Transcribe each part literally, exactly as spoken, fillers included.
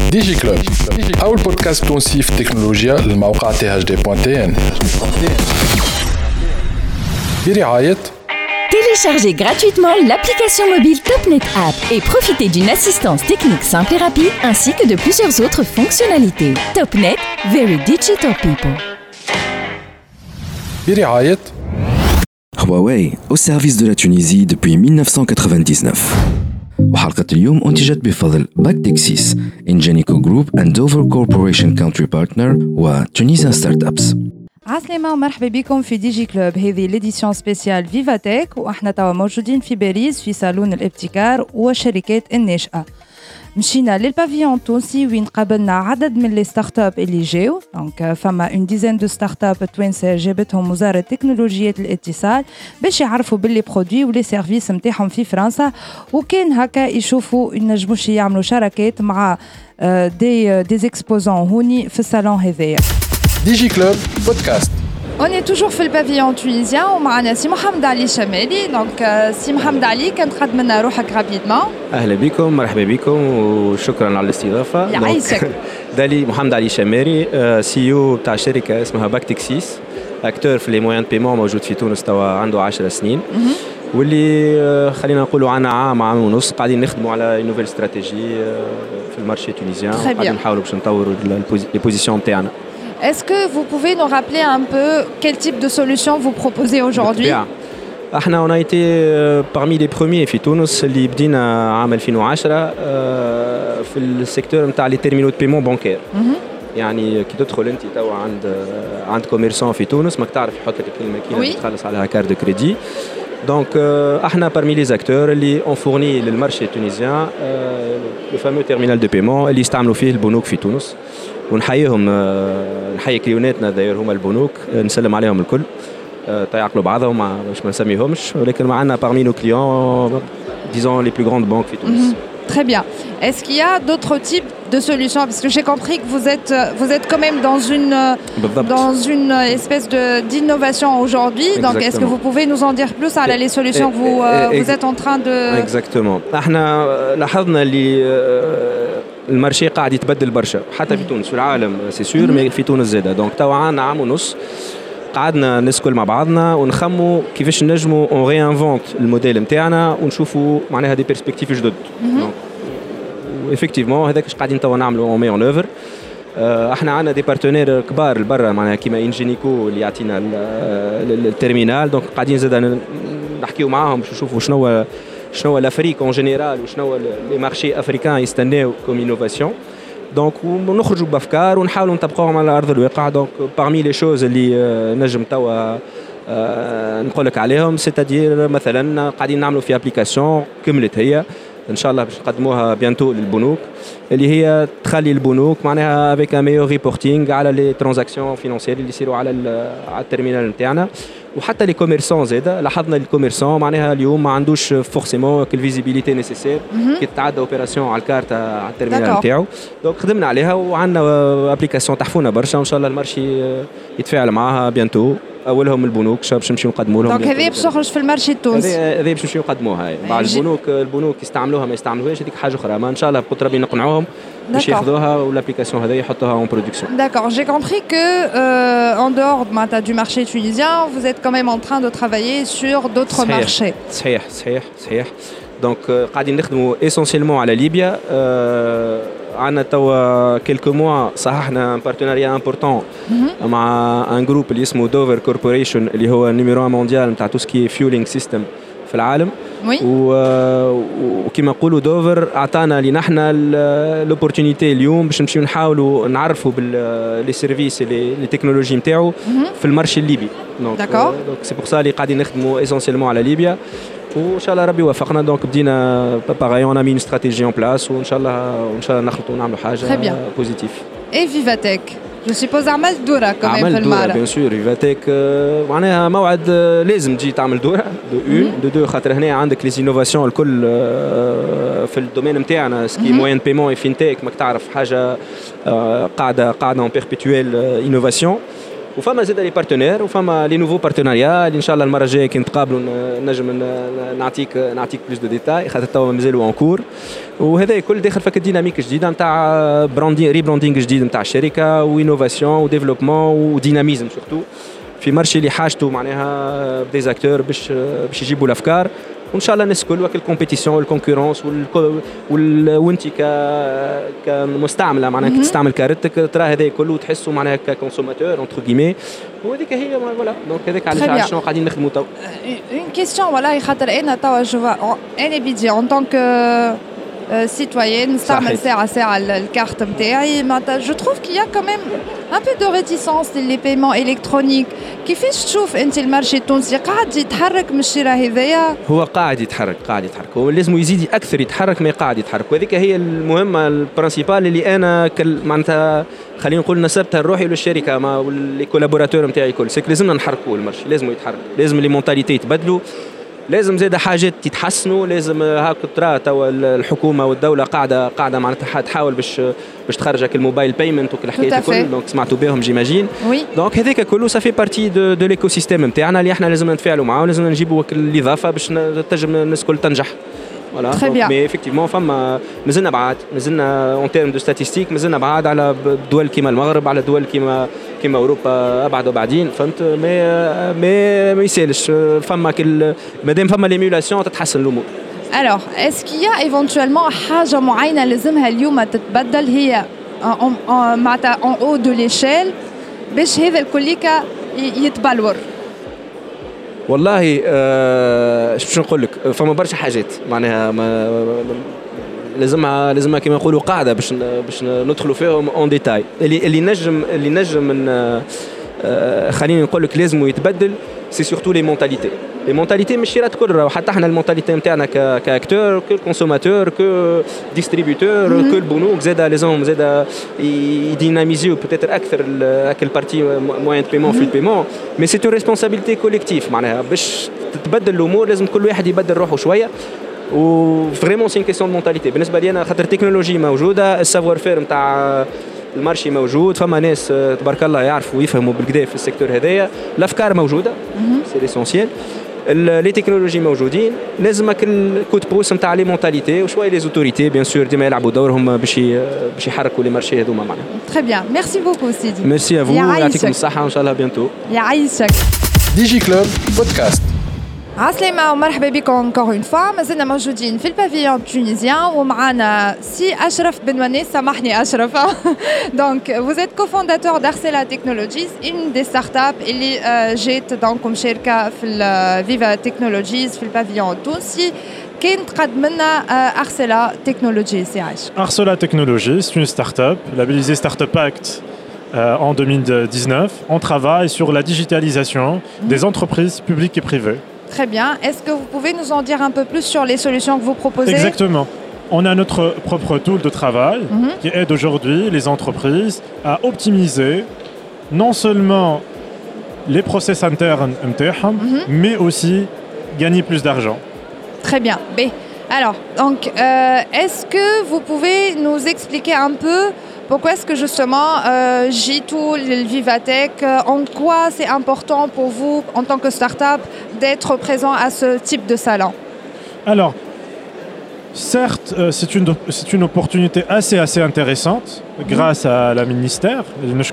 ديجي كلوب أول بودكاست تونسي في التكنولوجيا للموقع تي إتش دي دوت تي إن برعاية. Téléchargez gratuitement l'application mobile TopNet App et profitez d'une assistance technique simple et rapide ainsi que de plusieurs autres fonctionnalités. TopNet, very digital people. برعاية Huawei au service de la Tunisie depuis mille neuf cent quatre-vingt-dix-neuf. وحلقة اليوم أنتجت بفضل باكتكسيس Ingenico Group and Dover Corporation Country Partner و Tunisian Startups. عسلامة ومرحبا بكم في ديجي كلوب. هذه ليديسيون سبيسيال فيفاتيك واحنا توا موجودين في باريس في صالون الابتكار والشركات الناشئة. مشينا للبافيون التونسي وين قابلنا عدد من لي ستارت اب اللي جاو. دونك فما اون ديزين دو ستارت اب توانسه جابتهم وزاره تكنولوجيات الاتصال باش يعرفوا باللي برودوي ولي سيرفيس نتاعهم في فرنسا، وكان هكا يشوفوا ينجموش يعملوا شراكات مع دي دي اكسبوزون هوني في الصالون هذايا. ديجي كلوب بودكاست. On est toujours في البافيون tunisien ومعنا سي محمد علي شمالي. دونك سي محمد علي كان تقدم لنا روحك رابيدمون. اهلا بكم، مرحبا بكم وشكرا على الاستضافه. يعيشك. دالي محمد علي شماري، سي او تاع شركه اسمها باكتكسيس، اكتور في لي موان بيمون، موجود في تونس توا عنده عشر سنين، واللي خلينا نقولوا عنا عام عام ونص قاعدين نخدموا على نوفيل استراتيجي في المارشي تونيزيان، قاعدين نحاولوا باش نطوروا لي بوزيسيون نتاعنا. Est-ce que vous pouvez nous rappeler un peu quel type de solution vous proposez aujourd'hui? احنا on a été parmi les premiers في تونس اللي بدينا عام ألفين وعشرة في السيكتور نتاع لي تيرمينو دو بيمون بانكير. يعني كي تدخل انت توا عند عند كوميرسون في تونس ماك تعرف يحط لك الماكينه تخلص عليها كارت دو كريدي. دونك احنا parmi les acteurs اللي on fournit للمارشي التونسيان لو فامو تيرمينال دو بيمون اللي يستعملوا فيه البنوك في تونس. ونحييهم، نحيي كليوناتنا داير هما البنوك، نسلم عليهم الكل، تيعقلوا بعضهم باش ما نسميهمش، ولكن معنا parmi nos clients disons les plus grandes banques في تونس. Très bien. Est-ce qu'il y a d'autres types de solutions? Parce que j'ai compris que vous êtes, vous êtes quand même dans une, dans une espèce de, d'innovation aujourd'hui. Donc, est-ce que vous pouvez nous en dire plus à les solutions que vous, euh, vous êtes en train de... Exactement. احنا لاحظنا اللي المارشي قاعد يتبدل برشا حتى في تونس، في العالم سي سور، مي في تونس زاده. دونك توا عندنا عام ونص قعدنا نسكل مع بعضنا ونخموا كيفاش نجموا اون ريانفونت الموديل نتاعنا ونشوفوا معناها دي بيرسبكتيف جدد. افكتيفمون هذاك اش قاعدين توا نعملوا اون مي اون اوفر. احنا عندنا دي بارتنير كبار لبرا معناها كيما انجينيكو اللي يعطينا التيرمينال. دونك قاعدين زاده نحكيو معاهم باش نشوفوا شنو شنو l'Afrique en général وشنو les marchés africains يستناو comme innovation. دونك ونخرجوا بافكار ونحاولوا نطبقوهم على ارض الواقع. دونك parmi les choses اللي نجم توا نقول لك عليهم سيتادير مثلا قاعدين نعملوا في ابليكاسيون كملت هي ان شاء الله باش نقدموها بيانتو للبنوك، اللي هي تخلي البنوك معناها افيك ان ميور ريبورتينغ على لي ترانزاكسيون فينانسيير اللي يصيروا على على التيرمينال نتاعنا. وحتى لي كوميرسون زاده لاحظنا الكوميرسون معناها اليوم ما عندوش فورسيمون كل فيزيبيليتي نيسيسير كي تعدى اوبيراسيون على الكارت على التيرمينال نتاعو. دونك خدمنا عليها وعندنا ابليكاسيون تحفونا برشا، وان شاء الله المارشي يتفاعل معاها بيانتو. اولهم البنوك باش نمشيو نقدموا لهم. دونك هذه باش تخرج في المارشي التونسي، هذه باش نمشيو نقدموها. بعض البنوك البنوك يستعملوها ما يستعملوهاش، هذيك حاجه اخرى. ما ان شاء الله بقدر ربي نقنعوهم باش ياخذوها والابليكاسيون هذه يحطوها اون برودكسيون. D'accord, j'ai compris que euh, en dehors du marché tunisien, vous êtes quand même en train de travailler sur d'autres صحيح. marchés. صحيح صحيح صحيح. دونك قاعدين نخدموا اسونسيلمون على ليبيا. عندنا توا كيلكو موا صححنا ان بارتناريا امبورطون مع ان جروب اللي اسمه دوفر كوربوريشن اللي هو النيميرو مونديال نتاع تو سكي فيولينغ سيستم في العالم. Oui. وكما نقولوا دوفر اعطانا لي نحنا لوبورتونيتي اليوم باش نمشيو نحاولوا نعرفوا باللي سيرفيس لي تكنولوجي نتاعو في المارشي الليبي. دونك دونك سي بور سا اللي قاعدين نخدموا اسونسيلمون على ليبيا، وان شاء الله ربي يوفقنا. دونك بدينا باغاي اون امي استراتيجي اون بلاس، وان شاء الله وان شاء الله نخلطوا ونعملوا حاجه بوزيتيف. اي فيفاتيك جو سيبوز عملت دوره كمان في المعرض. بيان سور فيفاتيك معناها موعد لازم تجي تعمل دوره دو اون دو دو، خاطر هنا عندك لي انوفاسيون الكل في الدومين نتاعنا سكي موين بيمون فينتيك. ماك تعرف حاجه قاعده قاعده اون بيربيتويل انوفاسيون. وفما زاد لي بارتنير وفما لي نوفو بارتناريا اللي ان شاء الله المره الجايه كي نتقابلوا نجم نعطيك نعطيك بلوس دو ديتاي، خاطر توا مازالوا اون كور. وهذا الكل داخل فك ديناميك جديده نتاع براندين ريبراندينغ جديد نتاع الشركه وانوفاسيون وديفلوبمون وديناميزم سورتو في مارشي اللي حاجته معناها ديزاكتور باش باش يجيبوا الافكار وان شاء الله الناس الكل وكل الكومبيتيسيون والكونكورونس وال وانت ك كمستعمله معناها تستعمل كارتك ترى هذا كله تحسه معناها ككونسوماتور اونتر كيمي وهذيك هي فوالا دونك هذاك علاش شنو قاعدين نخدموا تو. اون كيستيون والله خاطر انا توا جو انا بيدي اون طونك citoyenne نستعمل ساعة ساعة الكارت نتاعي معناتها جو تروف كي يا كمان ان بو دو ريتيسونس لي بايمون الكترونيك كيفاش تشوف انت المارشي التونسي قاعد يتحرك من الشراء هذايا؟ هو قاعد يتحرك قاعد يتحرك هو لازم يزيد اكثر يتحرك ما قاعد يتحرك وهذيك هي المهمة البرانسيبال اللي انا معناتها خلينا نقول نسبتها لروحي وللشركة مع واللي كولابوراتور نتاعي الكل سيك لازمنا نحركوا المارشي لازم يتحرك لازم لي مونتاليتي يتبدلوا لازم زاد حاجات تتحسنوا لازم هاك ترى توا الحكومه والدوله قاعده قاعده معناتها تحاول باش باش تخرجك الموبايل بايمنت وكل الحكايات الكل دونك سمعتوا بهم جيماجين دونك هذاك كله صافي بارتي دو, دو ليكو سيستيم نتاعنا اللي احنا لازم نتفاعلوا معاه ولازم نجيبوا الاضافه باش تنجم الناس الكل تنجح فوالا مي افكتيفمون فما مازلنا بعاد مازلنا اون تيرم دو ستاتيستيك مازلنا بعاد على دول كيما المغرب على دول كيما كيما اوروبا ابعد وبعدين فهمت مي مي ما يسالش فما كل مادام فما ليميولاسيون تتحسن الامور. Alors, est-ce qu'il y a éventuellement حاجة معينة لازمها اليوم تتبدل هي معناتها en haut de l'échelle باش هذا الكليكا يتبلور؟ والله آه باش نقول لك فما برشا حاجات معناها ما لازمها لازمها كما نقولوا قاعده باش باش ندخلوا فيهم اون ديتاي اللي اللي نجم اللي نجم من آه خليني نقول لك لازم يتبدل سي سورتو لي مونتاليتي لي مونتاليتي مش شيرات كل وحتى احنا المونتاليتي نتاعنا كاكتور كو كونسوماتور كو ديستريبيوتور كو البنوك زاد لازم زاد يديناميزيو بوتيتر اكثر اكل بارتي موين دو بيمون في البيمون مي سي تو ريسبونسابيلتي كوليكتيف معناها باش تتبدل الامور لازم كل واحد يبدل روحه شويه و فريمون سي كيسيون دو مونتاليتي بالنسبه لي انا خاطر التكنولوجي موجوده السافوار فير نتاع المارشي موجود فما ناس تبارك الله يعرفوا ويفهموا بالكدا في السيكتور هذايا الافكار موجوده سي ليسونسيال لي تكنولوجي موجودين لازمك الكود بوس نتاع لي مونتاليتي وشويه لي زوتوريتي بيان سور ديما يلعبوا دورهم باش باش يحركوا لي مارشي هذوما معنا. تري بيان ميرسي بوكو سيدي. ميرسي ا فو يعطيكم الصحه وان شاء الله بيانتو. يعيشك. ديجي كلوب بودكاست. عسلامة ومرحبا بكم encore une fois مازلنا موجودين في البافيون تونيزيان ومعنا سي أشرف بنواني سامحني أشرف دونك vous êtes cofondateur d'Arcela Technologies une des startups اللي جات دونك مشاركة في الفيفا تكنولوجيز في البافيون التونسي كانت قدم لنا Arcela Technologies يا عايش. Arcela Technologies c'est une startup labellisée Startup Act euh, en deux mille dix-neuf. On travaille sur la digitalisation mmh. des entreprises publiques et privées. Très bien. Est-ce que vous pouvez nous en dire un peu plus sur les solutions que vous proposez ? Exactement. On a notre propre tool de travail mm-hmm. qui aide aujourd'hui les entreprises à optimiser non seulement les process internes mm-hmm. mais aussi gagner plus d'argent. Très bien. B. Alors, donc, euh, est-ce que vous pouvez nous expliquer un peu pourquoi est-ce que justement euh, J-Tool, Vivatech, euh, en quoi c'est important pour vous en tant que start-up d'être présent à ce type de salon ? Alors, certes, euh, c'est, une, c'est une opportunité assez, assez intéressante mmh. grâce à la ministère.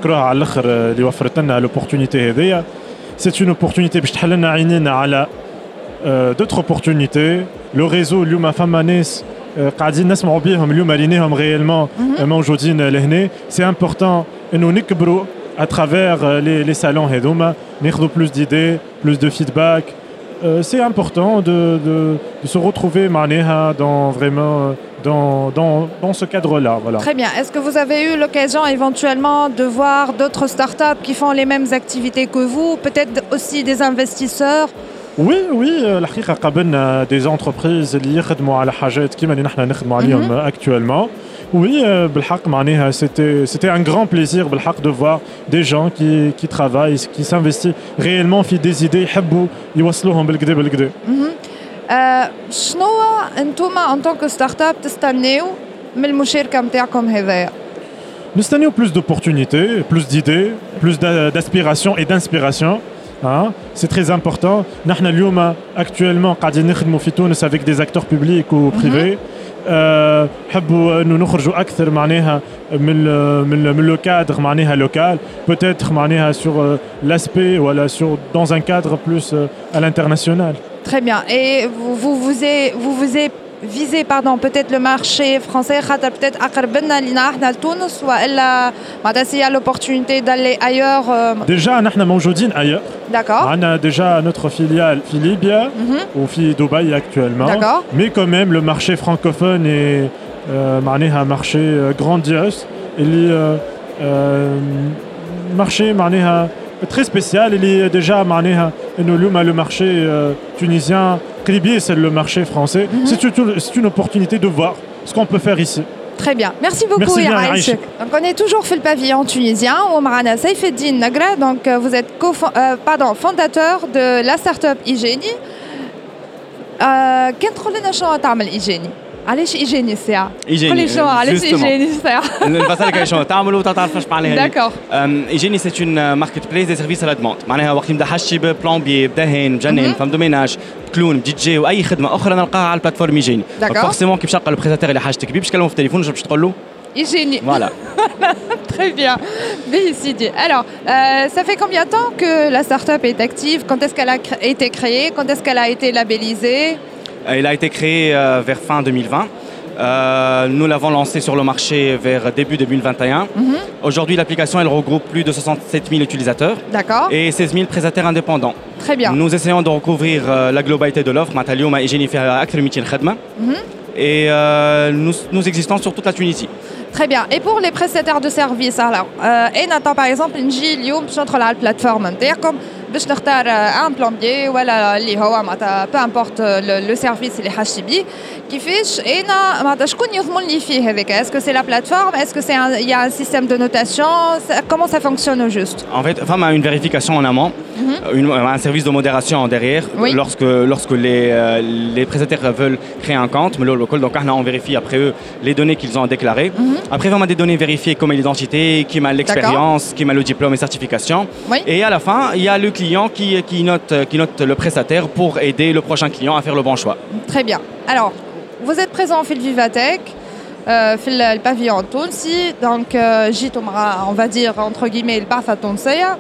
C'est une opportunité باش تحل لنا عينينا على d'autres opportunités. Le réseau اليوم فما ناس قاعدين نسمعوا بهم اليوم ليناهم غيالمون موجودين لهنا. C'est important انه نكبروا à travers les les salons هذوما ناخذوا plus d'idées, plus de feedback. Euh, c'est important de, de, de se retrouver معناها dans vraiment dans, dans, dans ce cadre-là. Voilà. Très bien. Est-ce que vous avez eu l'occasion éventuellement de voir d'autres startups qui font les mêmes activités que vous, peut-être aussi des investisseurs ? Oui, oui, الحقيقة قابلنا des entreprises اللي يخدموا على حاجات كيما اللي نحن نخدموا عليهم actuellement. Oui, بالحق معناها c'était c'était un grand plaisir بالحق de voir des gens qui qui travaillent, qui s'investissent réellement في des idées يحبوا يوصلوهم بالكدا بالكدا. شنو انتوما en tant que startup تستناو من المشاركة نتاعكم هذايا؟ نستناو plus d'opportunités, plus d'idées, plus d'aspiration et d'inspiration. Hein? C'est très important. نحن اليوم actuellement قاعدين نخدموا في تونس avec des acteurs publics ou privés. Mm-hmm. حبوا انه نخرجوا اكثر معناها من من من لو كادر معناها لوكال peut-être معناها sur l'aspect ولا sur dans un cadre plus à l'international. Très bien. Et vous vous vous êtes vous vous êtes visé pardon peut-être le marché français خاطر peut-être اقرب لنا لينا احنا لتونس والا معناتها s'il y a l'opportunité d'aller ailleurs. Déjà نحن موجودين ailleurs. D'accord. عندنا déjà notre filiale في ليبيا وفي دبي actuellement. D'accord. Mais quand même le marché francophone est معناها marché grandiose اللي marché معناها très spécial اللي déjà معناها انه اليوم le marché tunisien قريب c'est le marché français. Mm-hmm. C'est une c'est une opportunité de voir ce qu'on peut faire ici. Très bien. Merci beaucoup Yaïchek. Donc on est toujours fait le pavillon tunisien ومعنا سيف الدين نقرة. Donc vous êtes co euh, pardon fondateur de la start-up Igeni. كان تقول لنا شنو تعمل Igeni؟ علاش ايجيني الساعه؟ قولي شنو علاش ايجيني الساعه؟ نفسرلك شنو تعملوا تعرف ايش معناها. داكور. ايجيني سي اون ماركت بليس دي سيرفيس على دوموند، معناها وقت نبدا حشي ببلومبي بدهن مجنن فم دوميناج كلون دي جي واي خدمه اخرى نلقاها على البلاتفورم ايجيني. فورسيمون كيف تلقى البريستاتير اللي حاجتك بيه باش تكلموا في التليفون باش تقول له Igénie. Voilà. Très bien. Décidé. Alors, euh, ça fait combien de temps que la start-up est active? Quand est-ce qu'elle a été créée? Quand est-ce qu'elle a été labellisée? Elle a été créée euh, vers fin deux mille vingt. Euh, nous l'avons lancée sur le marché vers début deux mille vingt et un. Mm-hmm. Aujourd'hui, l'application elle regroupe plus de soixante-sept mille utilisateurs. D'accord. Et seize mille prestataires indépendants. Très bien. Nous essayons de recouvrir euh, la globalité de l'offre. Maintenant, à Igénie fait أكثر من مئتين خدمة. Et euh, nous, nous existons sur toute la Tunisie. Très bien. Et pour les prestataires de services, alors, euh, et n'attend par exemple une G, اليوم باش ندخل على البلاتفورم نتاعكم باش نختار ان بلومبيي ولا اللي هو معناتها بو امبورت لو سيرفيس اللي حاجتي بيه كيفاش انا معناتها شكون يضمن لي فيه هذاك؟ اسكو سي لا بلاتفورم؟ اسكو سي il y a un système de notation? Comment ça fonctionne au juste? En fait, femme a une vérification en amont, mm-hmm. une, un service de modération derrière. Oui. Lorsque lorsque les euh, les prestataires veulent créer un compte, mais le local donc on vérifie après eux les données qu'ils ont déclarées. Mm-hmm. Après vraiment des données vérifiées comme l'identité, qui m'a l'expérience, qui m'a le diplôme et certification. Oui. Et à la fin, il y a le client qui qui note qui note le prestataire pour aider le prochain client à faire le bon choix. Très bien. Alors, vous êtes présent في الفيفاتك في البافيون التونسي دونك جيتوا مع on va dire entre guillemets البعثة التونسية.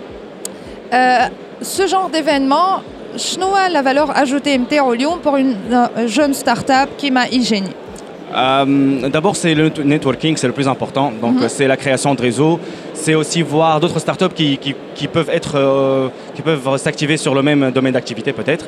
Ce genre d'événement, شنو هو la valeur ajoutée نتاعو اليوم pour une jeune start-up كيما Igénie? Euh, d'abord, c'est le networking, c'est le plus important. Donc, mm-hmm. c'est la création de réseaux. C'est aussi voir d'autres startups qui, qui, qui peuvent être, euh, qui peuvent s'activer sur le même domaine d'activité, peut-être.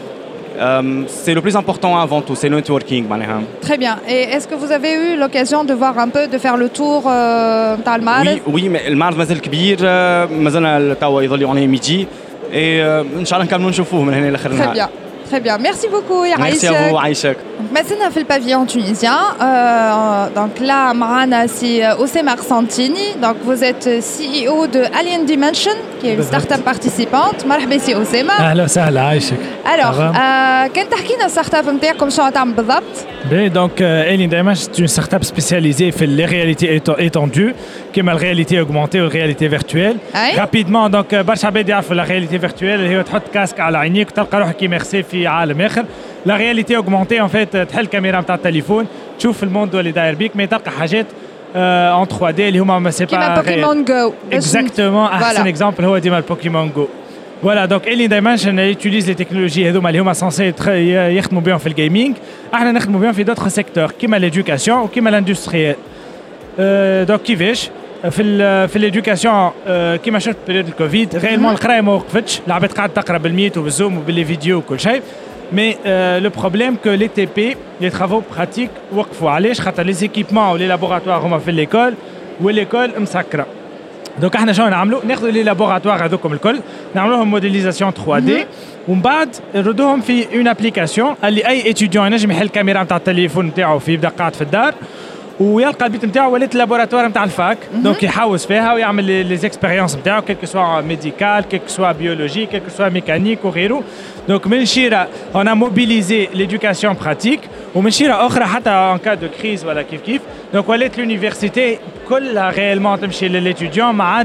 Euh, c'est le plus important avant tout, c'est le networking. Très bien. Et est-ce que vous avez eu l'occasion de voir un peu, de faire le tour euh, dans le Mar? Oui, oui, mais le Mar مازال كبير، مازال توا يظل يعطي ميدي. Et إن شاء الله نكملوا نشوفوه من هنا لآخر النهار. Très bien. Très bien. Merci beaucoup, Yaïchek. Merci à vous, Aïchek. Maintenant, on fait le pavillon tunisien. Euh, donc là, Marana, c'est Oussema Santini. Donc vous êtes C E O de Alien Dimension, qui est une start-up participante. Marhaba si Oussema. أهلا وسهلا عايشك. Alors, كان تحكي لنا الستارت اب نتاعكم شنو تعمل بالضبط؟ Ben, donc, euh, Alien Dimension, c'est une start-up spécialisée dans les réalités étendues, comme la réalité augmentée ou la réalité virtuelle. Aïe. Rapidement, donc, برشا عباد يعرفوا la réalité virtuelle اللي هي تحط كاسك على عينيك وتلقى روحك immersé في عالم آخر. La réalité augmentée, en fait, تحل الكاميرا نتاع التليفون، تشوف الموند اللي داير بيك، mais تلقى حاجات en trois D اللي هما ما سي با كيما بوكيمون جو. Exactement. أحسن exemple هو ديما البوكيمون جو. Voilà, donc Alien Dimension utilise les technologies هذوما اللي هما censés يخدموا بهم في الجيمنج. احنا نخدموا بهم في d'autres secteurs كيما l'éducation وكيما l'industriel. Euh, donc كيفاش؟ في ال في l'éducation كيما شفت بريود الكوفيد ريالمون القرايه ما وقفتش، العباد قاعده تقرا بالميت وبالزوم وباللي فيديو وكل شيء. Mais euh, le problème que les T P, les travaux pratiques, وقفوا علاش؟ خاطر les équipements ou les laboratoires هما في l'école والécole مسكره. Donc احنا شنو نعملوا؟ ناخذوا لي لابوراتوار هذوكم الكل نعملوا لهم موديليزاسيون ثري دي ومن بعد نردوهم في اون ابليكاسيون اللي اي اتيديون ينجم يحل الكاميرا نتاع التليفون نتاعو في يبدا قاعد في الدار ويلقى البيت نتاعو ولات اللابوراتوار نتاع الفاك. دونك يحوس فيها ويعمل لي زيكسبيريونس نتاعو كيك سوا ميديكال كيك سوا بيولوجي كيك سوا ميكانيك وغيره. دونك من شيره on a mobilisé l'éducation pratique ومن شيره اخرى حتى ان كا دو كريز ولا كيف كيف. دونك ولات لونيفرسيتي كلها ريالمون تمشي للاتيديون ما عادش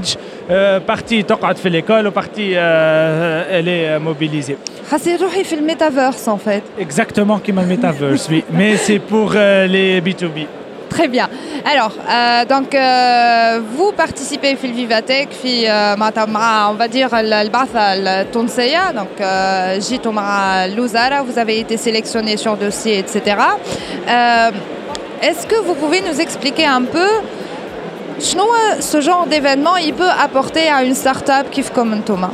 partie تقعد في l'école وpartie elle est mobilisée. حسيت روحي في الميتافيرس en fait. Exactement comme le metaverse, oui. Mais c'est pour euh, les B deux B. Très bien. Alors, euh, donc, euh, vous participez في الفيفاتيك في مع on va dire البعثة التونسية. Donc, euh, جيتوا مع الوزارة, vous avez été sélectionné sur dossier, et cetera. Euh, est-ce que vous pouvez nous expliquer un peu ce genre d'événement il peut apporter à une start-up كيف comme انتوما؟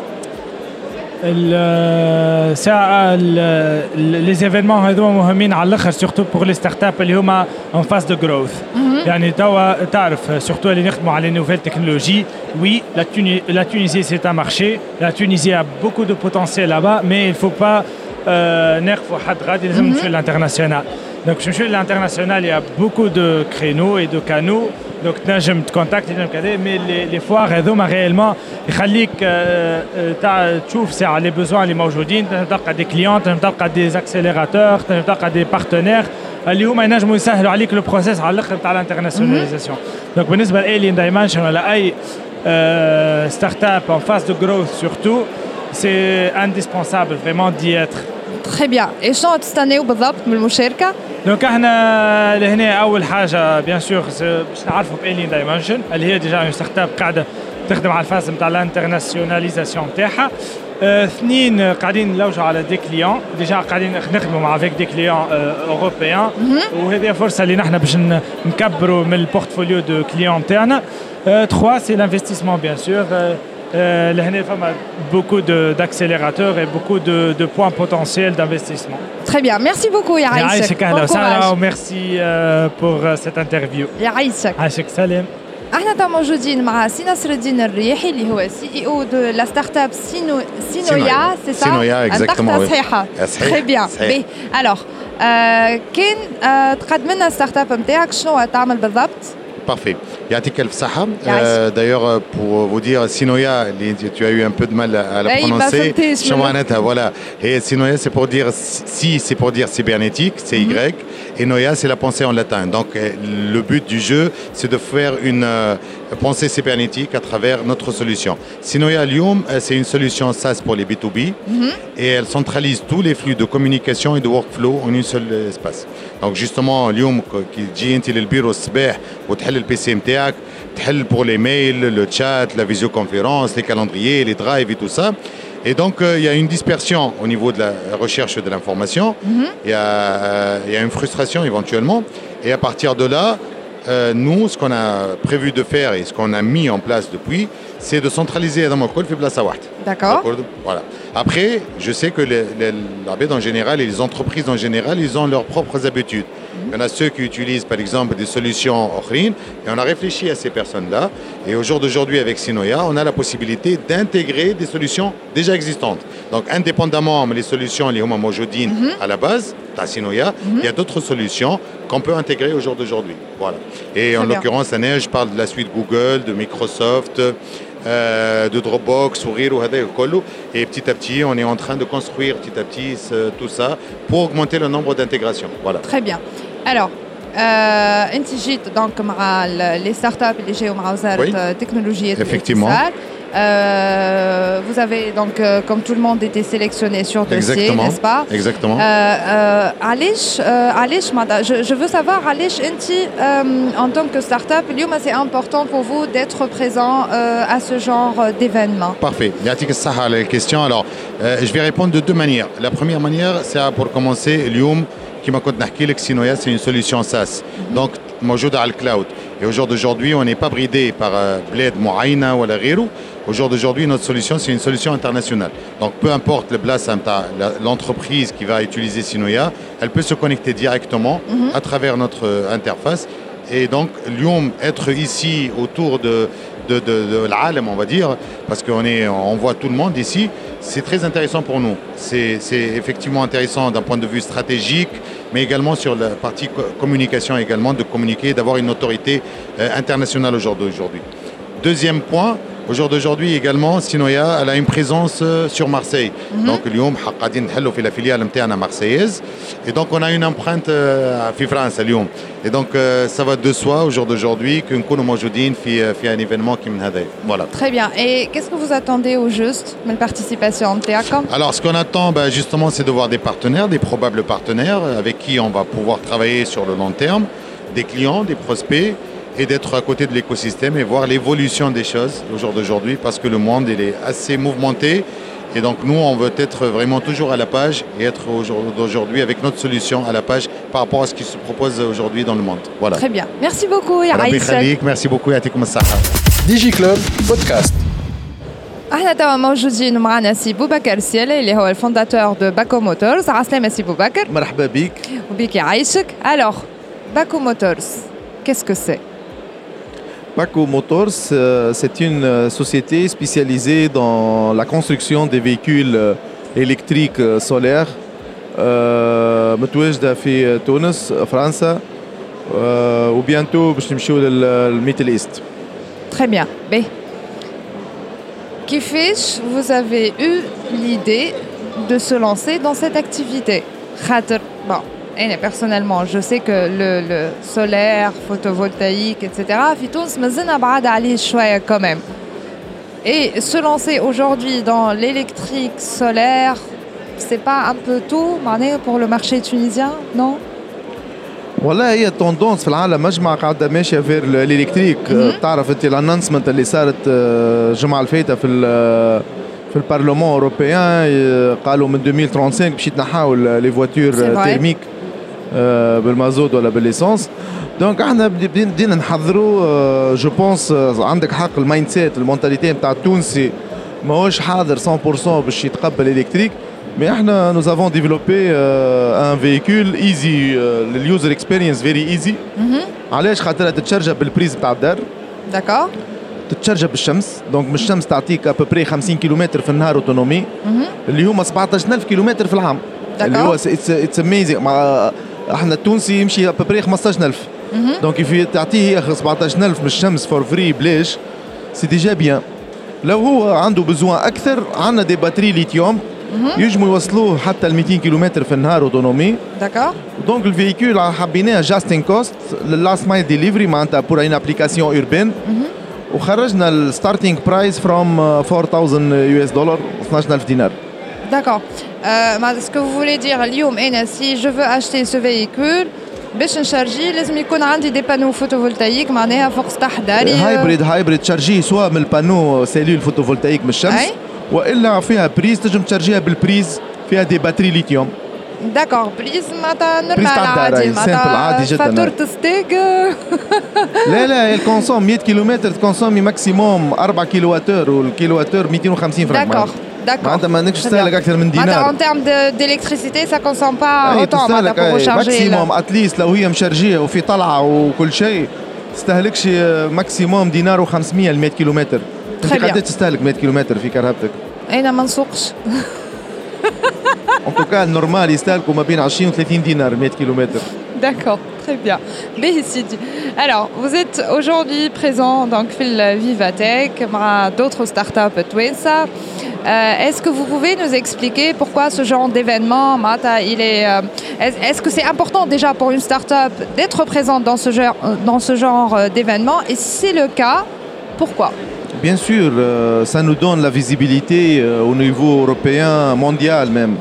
les événements هذوما مهمين على الاخر surtout pour les startups اللي هما en phase de growth. يعني توا تعرف surtout اللي نخدموا على les nouvelles technologies. Oui, la, Tuni- la Tunisie c'est un marché. La Tunisie a beaucoup de potentiel là-bas, mais il faut pas نخفوا حد غادي لازم نمشيو للانترناسيونال. Donc je suis à l'international, il y a beaucoup de créneaux et de canaux. Donc نجم تكونتاكتي نجم كذا, mais les, les foires هذوما réellement يخليك تاع تشوف ساعة les besoins اللي موجودين, تنجم تلقى des clients, تنجم تلقى des accélérateurs, تنجم تلقى des partenaires اللي هما ينجموا يسهلوا عليك لو بروسيس على الاخر تاع الانترناسيوناليزاسيون. Donc بالنسبة لالين دايمنشن ولا اي ستارت اب en phase de growth surtout, c'est indispensable vraiment d'y être. Très bien. Et شنو تستناو بالضبط من المشاركة؟ دونك احنا لهنا اول حاجه بيان سور باش نعرفوا بالين دايمنشن اللي هي ديجا اون ستارت اب قاعده تخدم على الفاز نتاع الانترناسيوناليزاسيون تاعها. اثنين قاعدين نلوجوا على دي كليون, ديجا قاعدين نخدموا مع افيك دي كليون اوروبيان, وهذه فرصه اللي نحن باش نكبروا من البورتفوليو دو كليون تاعنا. ثلاثة سي لانفستيسمون بيان سور. Euh, beaucoup de, d'accélérateurs et beaucoup de, de points potentiels d'investissement. Très bien, merci beaucoup Yaïsek. Bon courage. Merci euh, pour euh, cette interview. Yaïsek. Yaïsek Salim. احنا تا موجودين مع سي نصر الدين الريحي اللي هو سي اي او دو لا ستارت اب سينو سينويا سي سا سينويا اكزاكتومون صحيحه تري بيان. بي الوغ كان تقدم لنا ستارت اب نتاعك شنو تعمل بالضبط؟ Parfait. Yatik El Saha. Euh, d'ailleurs, pour vous dire, Sinoya, tu as eu un peu de mal à la prononcer. Voilà. Et Sinoya, c'est pour dire, si, c'est pour dire cybernétique, c'est Y. Mm-hmm. Et Noya, c'est la pensée en latin. Donc, le but du jeu, c'est de faire une euh, pensée cybernétique à travers notre solution. Sinoya Lyoum, c'est une solution SaaS pour les B deux B. Mm-hmm. Et elle centralise tous les flux de communication et de workflow en un seul espace. Donc, justement, Lyoum, qui dit, il est le bureau sbeh, ou le P C نتاعك, تحل pour les mails, le chat, la visioconférence, les calendriers, les drives et tout ça. Et donc, euh, il y a une dispersion au niveau de la recherche de l'information. Mm-hmm. Il y a, euh, il y a une frustration éventuellement. Et à partir de là, euh, nous, ce qu'on a prévu de faire et ce qu'on a mis en place depuis, c'est de centraliser dans mon col في بلاصة واحدة. D'accord. Voilà. Après, je sais que les, les, l'A B D en général et les entreprises en général, ils ont leurs propres habitudes. Il y en a ceux qui utilisent par exemple des solutions Ochrine, et on a réfléchi à ces personnes-là. Et au jour d'aujourd'hui, avec Sinoya, on a la possibilité d'intégrer des solutions déjà existantes. Donc, indépendamment des solutions les Homa Mojodine à la base, à Sinoya, mm-hmm. il y a d'autres solutions qu'on peut intégrer au jour d'aujourd'hui. Voilà. Et Très en bien. l'occurrence, je parle de la suite Google, de Microsoft, euh, de Dropbox, Sourire, et petit à petit, on est en train de construire petit à petit tout ça pour augmenter le nombre d'intégrations. Voilà. Très bien. Alors, euh, انت جيت دونك مع les startups اللي جاوا مع وزارة التكنولوجيا والاتصال. Euh, vous avez donc, euh, comme tout le monde, été sélectionné sur dossier, Exactement. n'est-ce pas? Exactement. Euh, euh, Alish, euh, Alish, je, je veux savoir, Alish, euh, en tant que start-up, c'est important pour vous d'être présent euh, à ce genre d'événement. Parfait. Yatik Saha, la question. Alors, euh, je vais répondre de deux manières. La première manière, c'est pour commencer, Lyoum, qui m'a contacté avec Sinoya, c'est une solution SaaS. Mm-hmm. Donc, موجودة على الكلاود. Et au jour d'aujourd'hui, on n'est pas bridé par bled معينة ولا غيره. Au jour d'aujourd'hui, notre solution, c'est une solution internationale. Donc, peu importe le place, l'entreprise qui va utiliser Sinoya, elle peut se connecter directement mm-hmm. à travers notre interface. Et donc, Lyoum, être ici autour de, de, de, de l'Alem, on va dire, parce qu'on est, on voit tout le monde ici, c'est très intéressant pour nous. C'est, c'est effectivement intéressant d'un point de vue stratégique, mais également sur la partie communication, également de communiquer, d'avoir une autorité euh, internationale aujourd'hui. Deuxième point, Au jour d'aujourd'hui également, Sinoia elle a une présence euh, sur Marseille. Mm-hmm. Donc اليوم قاعدين نحلوا في la filiale نتاعنا marseillaise. Et donc on a une empreinte euh, في France اليوم. Et donc euh, ça va de soi au jour d'aujourd'hui que نكونوا موجودين في في un événement qui من هذا. Voilà. Très bien. Et qu'est-ce que vous attendez au juste de la participation نتاعكم? Alors ce qu'on attend bah, justement c'est de voir des partenaires, des probables partenaires avec qui on va pouvoir travailler sur le long terme, des clients, des prospects, et d'être à côté de l'écosystème et voir l'évolution des choses au jour d'aujourd'hui parce que le monde il est assez mouvementé et donc nous on veut être vraiment toujours à la page et être aujourd'hui avec notre solution à la page par rapport à ce qui se propose aujourd'hui dans le monde. Voilà. Très bien. Merci beaucoup يا عايشة. Merci beaucoup يعطيكم الصحة. ديجي كلوب بودكاست. احنا توا موجودين معنا سي بوبكر السيالي اللي هو الفونداتور دو باكو موتورز. عسلامة سي بوبكر. مرحبا بك. وبيك يعيشك. Alors, Baco Motors, qu'est-ce que c'est? Baco Motors, c'est une société spécialisée dans la construction des véhicules électriques solaires متواجدة في تونس فرنسا وبيانتو باش نمشيو للميدل ايست. Très bien. Mais كيفاش vous avez eu l'idée de se lancer dans cette activité? خاطر bon Et personnellement, je sais que le, le solaire, photovoltaïque, et cetera, Fitous, mais c'est un quand même. Et se lancer aujourd'hui dans l'électrique solaire, c'est pas un peu tôt pour le marché tunisien, non? والله هي tendance في العالم مجمع قاعدة ماشية vers l'électrique. تعرف انت الانونسمنت اللي صارت الجمعة الفايتة في في البرلمان اوروبيان قالوا من ألفين وخمسين باش يتنحاو لي فواتور تيرميك بالمازوت ولا بالليسانس. دونك احنا بدينا نحضروا جو بونس عندك حق المايند سيت المونتاليتي نتاع التونسي ماهوش حاضر مية بالمية باش يتقبل الكتريك. مي احنا نو افون ديفلوبي ان فيكول ايزي لليوزر اكسبيرينس فيري ايزي. علاش؟ خاطر تتشارجا بالبريز نتاع الدار. داكور. تتشارجا بالشمس. دونك من الشمس تعطيك ابوبري خمسين كيلومتر في النهار اوتونومي اللي هما سبعطاش ألف كيلومتر في العام. اللي هو اتس اميزينغ. مع احنا التونسي يمشي ابوبري خمسطاش ألف. دونك في تعطيه هي سبعطاش ألف من الشمس فور فري بلاش سي ديجا بيان. لو هو عنده بزوان اكثر عندنا دي باتري ليثيوم يجموا يوصلوه حتى ل مئتين كيلومتر في النهار اوتونومي. داكور. دونك الفيكول حبيناه جاستين كوست للاست مايل ديليفري معناتها بور ان ابليكاسيون اوربان. وخرجنا الستارتينغ برايس فروم أربعة آلاف يو اس دولار اثناش ألف دينار. D'accord. Euh, ce que vous voulez dire, اليوم أنا si je veux acheter ce véhicule باش نشارجي لازم يكون عندي دي بانو فوتوفولتايك معناها فوق سطح داري. هايبريد هايبريد تشارجيه سواء من البانو سيلول فوتوفولتايك من الشمس أي؟ والا فيها بريز تنجم تشارجيها بالبريز فيها دي باتري ليثيوم. داكور. بريز معناتها نورمال عادي معناتها فاتورة ستيك. لا لا الكونسوم مئة كيلومتر تكونسومي ماكسيموم أربعة كيلوواتور والكيلوواتور مئتين وخمسين فرنك. داكور. D'accord. معناتها ما نكش تستهلك أكثر من دينار. En termes d'électricité, ça consomme pas autant معناتها pour recharger. ماكسيموم أتليست لو هي مشارجية وفي طلعة وكل شيء تستهلكش ماكسيموم دينار وخمسمية ل مئة كيلومتر. أنت قداش تستهلك مئة كيلومتر في كرهبتك؟ أنا ما نسوقش. En tout cas, normal, يستهلكوا ما بين عشرين و ثلاثين دينار مئة كيلومتر. D'accord, très bien. Béhissidi. Alors, vous êtes aujourd'hui présent donc fil Vivatech, d'autres startups Twinsa. Euh, est-ce que vous pouvez nous expliquer pourquoi ce genre d'événement, Mata, il est, euh, est-ce que c'est important déjà pour une startup d'être présente dans ce genre, dans ce genre d'événement? Et si c'est le cas, pourquoi? Bien sûr, euh, ça nous donne la visibilité euh, au niveau européen, mondial même.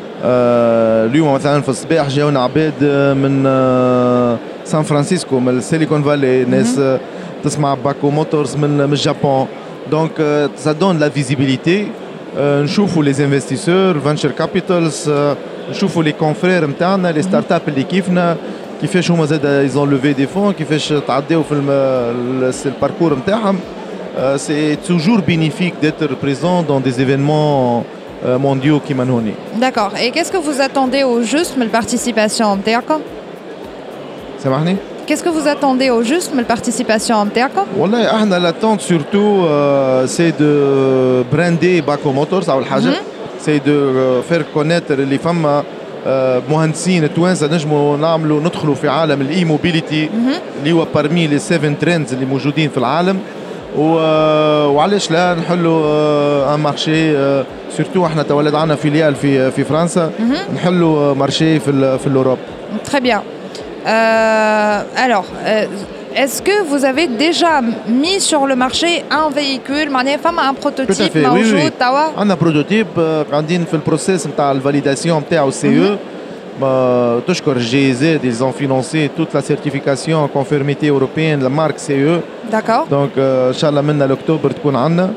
اليوم مثلا في الصباح جاونا عباد من سان فرانسيسكو من السيليكون فالي ناس تسمع باكو موتورز من من اليابان. دونك ça donne la visibilité. نشوفوا les investisseurs, venture capitals, نشوفوا les confrères نتاعنا les startups اللي كيفنا كيفاش هما زاد ils ont levé des fonds كيفاش تعداو في الباركور نتاعهم. C'est toujours bénéfique d'être présent dans des événements mondiaux qui manonient. D'accord. Et qu'est-ce que vous attendez au juste de la participation نتاعكم? سامحني؟ Qu'est-ce que vous attendez au juste de la participation نتاعكم؟ والله احنا l'attente surtout euh, c'est de brander Baco Motors أول حاجة. C'est de euh, faire connaître اللي فما مهندسين توانسة نجموا نعملوا ندخلوا في عالم الاي موبيليتي اللي هو parmi les seven trends اللي موجودين في العالم. وعلاش لا نحلوا ان مارشي سورتو احنا تولد عندنا فيليال في في فرنسا نحلوا مارشي في في l'Europe. Très bien. Euh, alors, euh, est-ce que vous avez déjà mis sur le marché un véhicule, un prototype موجود توا؟ عندنا بروتوتيب قاعدين في البروسيس نتاع الفاليداسيون نتاعو سي او. تشكر الجي زد ils ont financé toute la certification en conformité européenne la marque C E. D'accord. Donc ان شاء الله من الاكتوبر تكون عندنا.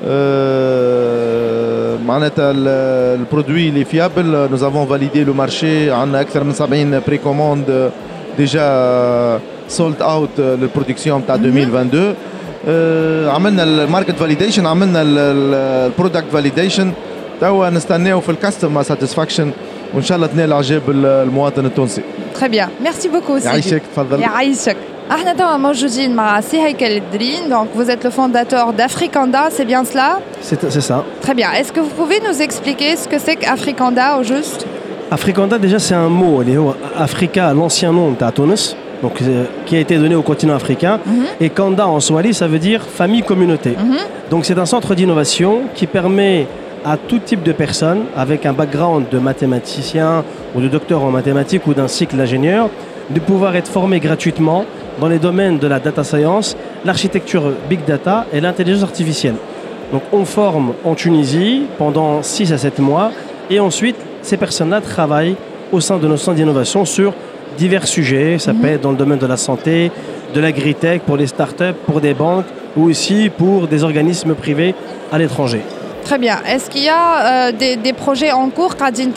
معناتها البرودوي اللي فيابل nous avons validé le marché عندنا اكثر من سبعين بريكوموند ديجا سولد اوت للبرودكسيون نتاع ألفين واثنين وعشرين. أه عملنا الماركت فاليديشن عملنا البرودكت فاليديشن توا نستناو في الكاستمر ساتيسفاكشن وان شاء الله تنال اعجاب المواطن التونسي. Très bien. Merci beaucoup. يعيشك تفضل. يعيشك. احنا توا موجودين مع سي هيكل الدرين. Donc vous êtes le fondateur d'Africanda, c'est bien cela? C'est c'est ça. Très bien. Est-ce que vous pouvez nous expliquer ce que c'est qu'Africanda au juste? Africanda déjà c'est un mot, Africa, l'ancien nom de Tunis, donc qui a été donné au continent africain, mm-hmm. et Kanda en swahili ça veut dire famille communauté. Mm-hmm. Donc c'est un centre d'innovation qui permet à tout type de personnes avec un background de mathématicien ou de docteur en mathématiques ou d'un cycle d'ingénieur de pouvoir être formé gratuitement dans les domaines de la data science, l'architecture big data et l'intelligence artificielle. Donc on forme en Tunisie pendant six à sept mois et ensuite ces personnes-là travaillent au sein de nos centres d'innovation sur divers sujets. Ça mmh. peut être dans le domaine de la santé, de l'agritech, pour les startups, pour des banques ou aussi pour des organismes privés à l'étranger. Très bien. Est-ce qu'il y a euh, des, des projets en cours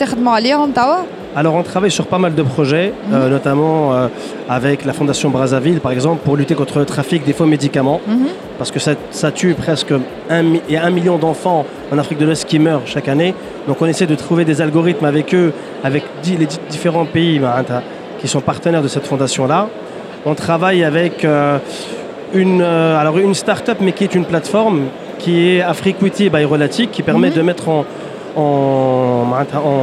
Alors on travaille sur pas mal de projets, mmh. euh, notamment euh, avec la Fondation Brazzaville par exemple pour lutter contre le trafic des faux médicaments, mmh. parce que ça, ça tue presque un, il y a un million d'enfants en Afrique de l'Ouest qui meurent chaque année. Donc on essaie de trouver des algorithmes avec eux, avec les différents pays qui sont partenaires de cette fondation-là. On travaille avec euh, une, euh, alors une start-up mais qui est une plateforme qui est Afriquity by Relatic qui permet mmh. de mettre en, en, en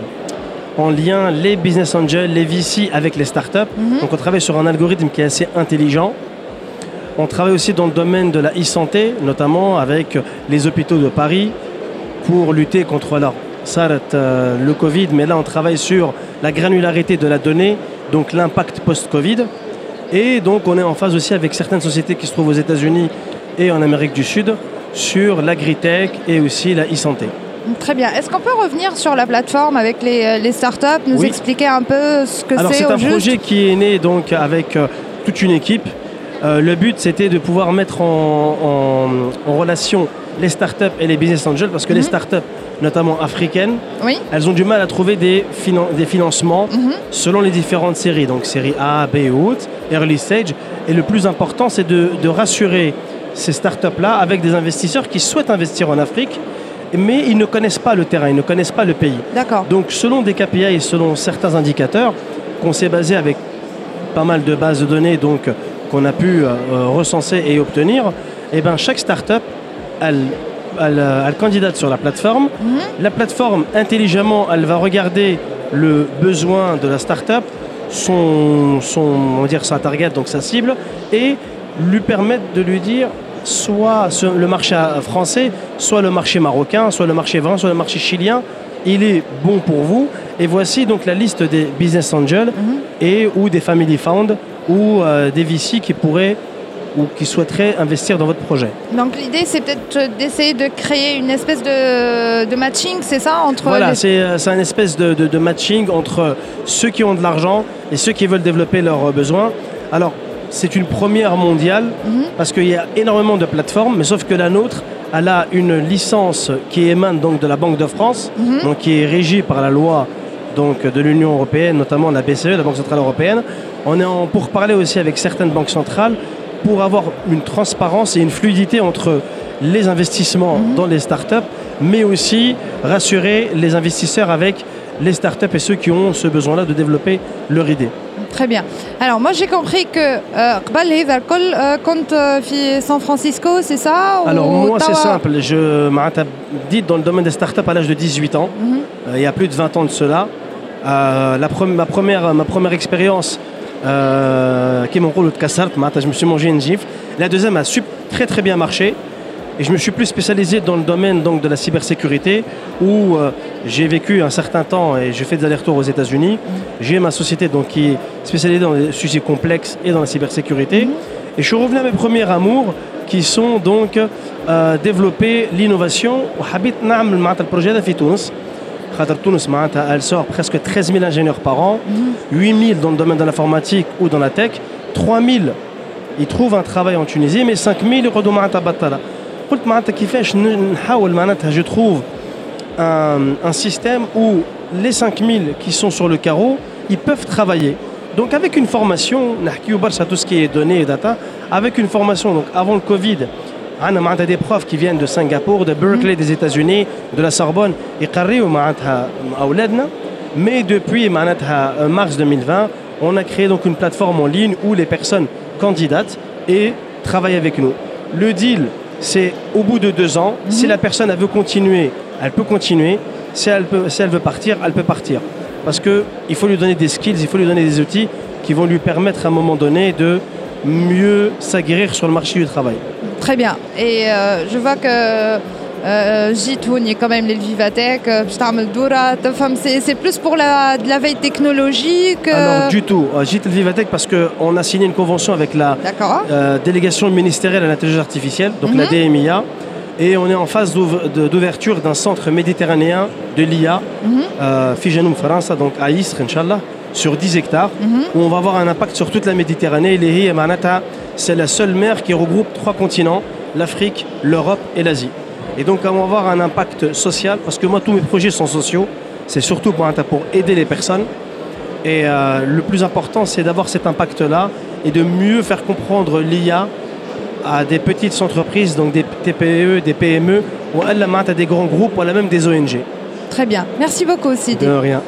en lien les business angels, les V C avec les startups. Mm-hmm. Donc on travaille sur un algorithme qui est assez intelligent. On travaille aussi dans le domaine de la e-santé, notamment avec les hôpitaux de Paris pour lutter contre alors, ça, euh, le Covid, mais là on travaille sur la granularité de la donnée, donc l'impact post-Covid. Et donc on est en phase aussi avec certaines sociétés qui se trouvent aux États-Unis et en Amérique du Sud sur l'agritech et aussi la e-santé. Très bien. Est-ce qu'on peut revenir sur la plateforme avec les, les startups, nous oui. expliquer un peu ce que c'est? Alors c'est un juste projet qui est né donc avec euh, toute une équipe. Euh, le but c'était de pouvoir mettre en, en, en relation les startups et les business angels parce que mm-hmm. les startups, notamment africaines, oui. elles ont du mal à trouver des, finan- des financements mm-hmm. selon les différentes séries, donc série A, B ou autres, early stage. Et le plus important c'est de, de rassurer ces startups-là avec des investisseurs qui souhaitent investir en Afrique mais ils ne connaissent pas le terrain, ils ne connaissent pas le pays. D'accord. Donc selon des K P I et selon certains indicateurs qu'on s'est basé avec pas mal de bases de données donc, qu'on a pu euh, recenser et obtenir, et ben, chaque start-up, elle, elle, elle candidate sur la plateforme. Mm-hmm. La plateforme, intelligemment, elle va regarder le besoin de la start-up, son, son, on va dire, sa target, donc sa cible, et lui permettre de lui dire soit le marché français, soit le marché marocain, soit le marché vin, soit le marché chilien, il est bon pour vous. Et voici donc la liste des business angels mm-hmm. et ou des family found ou euh, des V C qui pourraient ou qui souhaiteraient investir dans votre projet. Donc l'idée c'est peut-être d'essayer de créer une espèce de, de matching, c'est ça entre Voilà, les... c'est, c'est un espèce de, de, de matching entre ceux qui ont de l'argent et ceux qui veulent développer leurs besoins. Alors c'est une première mondiale mmh. parce qu'il y a énormément de plateformes, mais sauf que la nôtre, elle a une licence qui émane donc de la Banque de France, mmh. donc qui est régie par la loi donc, de l'Union européenne, notamment la B C E, la Banque centrale européenne. On est en pourparlers aussi avec certaines banques centrales pour avoir une transparence et une fluidité entre les investissements mmh. dans les startups, mais aussi rassurer les investisseurs avec les startups et ceux qui ont ce besoin-là de développer leur idée. Très bien. Alors moi j'ai compris que قبل هذا الكل كنت في San Francisco, c'est ça? Alors moi c'est simple, je m'ai dit dans le domaine des startups à l'âge de dix-huit ans, mm-hmm. euh, il y a plus de vingt ans de cela. Euh, la pre- ma première ma première expérience qui mon rôle de cassart, je me suis mangé une gifle. La deuxième a, sup- très très bien marché. Et je me suis plus spécialisé dans le domaine donc, de la cybersécurité où euh, j'ai vécu un certain temps et j'ai fait des allers-retours aux États-Unis. Mmh. J'ai ma société donc, qui est spécialisée dans les sujets complexes et dans la cybersécurité. Mmh. Et je suis revenu à mes premiers amours qui sont donc euh, développer l'innovation. وحبيت نعمل معناتها البروجي هذا في تونس. خاطر تونس معناتها elle sort presque treize mille ingénieurs par an, mmh. huit mille dans le domaine de l'informatique ou dans la tech, trois mille ils trouvent un travail en Tunisie mais cinq mille يقعدوا معناتها بطالة. قلت معناتها كيفاش نحاول معناتها je trouve un, un système où les cinq mille qui sont sur le carreau, ils peuvent travailler. Donc avec une formation, نحكيو برشا tout ce qui est données et data, avec une formation donc avant le Covid, on a des profs qui viennent de Singapour, de Berkeley, des États-Unis, de la Sorbonne, يقريوا معناتها أولادنا. Mais depuis معناتها mars deux mille vingt, on a créé donc une plateforme en ligne où les personnes candidatent et travaillent avec nous. Le deal, c'est au bout de deux ans, mmh. si la personne elle veut continuer, elle peut continuer. Si elle, peut, si elle veut partir, elle peut partir. Parce qu'il faut lui donner des skills, il faut lui donner des outils qui vont lui permettre à un moment donné de mieux s'aguerrir sur le marché du travail. Très bien. Et euh, je vois que Jitoun, quand même les Vivatech, c'est plus pour la, de la veille technologique. Alors du tout, Jit le Vivatech parce qu'on a signé une convention avec la euh, délégation ministérielle à l'intelligence artificielle, donc mm-hmm. la D M I A, et on est en phase d'ouverture d'un centre méditerranéen de l'I A, Fijanoum France, donc à Istres, Inch'Allah, sur dix hectares, mm-hmm. où on va avoir un impact sur toute la Méditerranée. Et c'est la seule mer qui regroupe trois continents, l'Afrique, l'Europe et l'Asie. Et donc on va avoir un impact social, parce que moi tous mes projets sont sociaux, c'est surtout pour, pour aider les personnes. Et euh, le plus important c'est d'avoir cet impact-là et de mieux faire comprendre l'I A à des petites entreprises, donc des T P E, des P M E, ou à des grands groupes, ou à même des O N G. Très bien, merci beaucoup Sidi. De rien.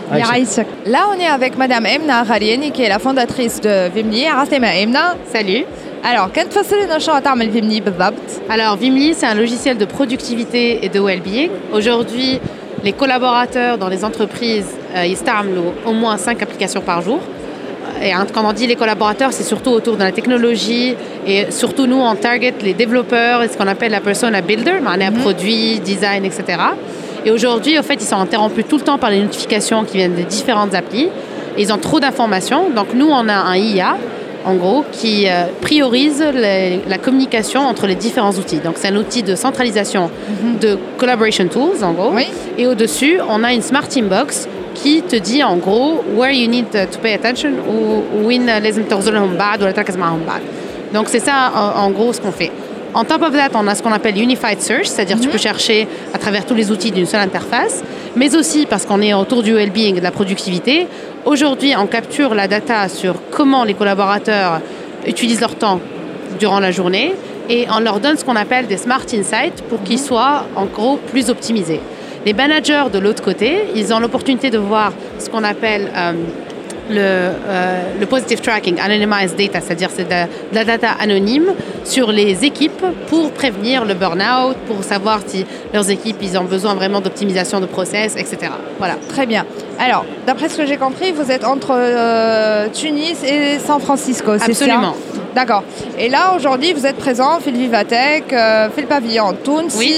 Là on est avec Madame Emna Khaliani qui est la fondatrice de Vimli. Emna. Salut. Alors, qu'est-ce que tu Vimli Alors, Vimli, c'est un logiciel de productivité et de well-being. Aujourd'hui, les collaborateurs dans les entreprises, euh, ils startent au moins cinq applications par jour. Et hein, quand on dit les collaborateurs, c'est surtout autour de la technologie et surtout nous, on target les développeurs et ce qu'on appelle la persona builder, mm-hmm. produit, design, et cetera. Et aujourd'hui, en fait, ils sont interrompus tout le temps par les notifications qui viennent des différentes applis. Et ils ont trop d'informations. Donc, nous, on a un I A en gros, qui euh, priorise les, la communication entre les différents outils. Donc, c'est un outil de centralisation mm-hmm. de collaboration tools, en gros. Oui. Et au-dessus, on a une smart inbox qui te dit, en gros, where you need to pay attention ou وين لازم تغزر لهم بعد ولا تركز معهم بعد. Donc, c'est ça, en, en gros, ce qu'on fait. En top of that, on a ce qu'on appelle Unified Search, c'est-à-dire mm-hmm. tu peux chercher à travers tous les outils d'une seule interface, mais aussi parce qu'on est autour du well-being et de la productivité. Aujourd'hui, on capture la data sur comment les collaborateurs utilisent leur temps durant la journée et on leur donne ce qu'on appelle des Smart Insights pour qu'ils soient en gros plus optimisés. Les managers de l'autre côté, ils ont l'opportunité de voir ce qu'on appelle euh, le, euh, le positive tracking, anonymized data, c'est-à-dire c'est de, de la data anonyme sur les équipes pour prévenir le burn-out, pour savoir si leurs équipes ils ont besoin vraiment d'optimisation de process, et cetera. Voilà. Très bien. Alors, d'après ce que j'ai compris, vous êtes entre euh, Tunis et San Francisco, c'est ça? Absolument. D'accord. Et là, aujourd'hui, vous êtes présent, fait le Vivatech, euh, fait le pavillon Tunis. Oui.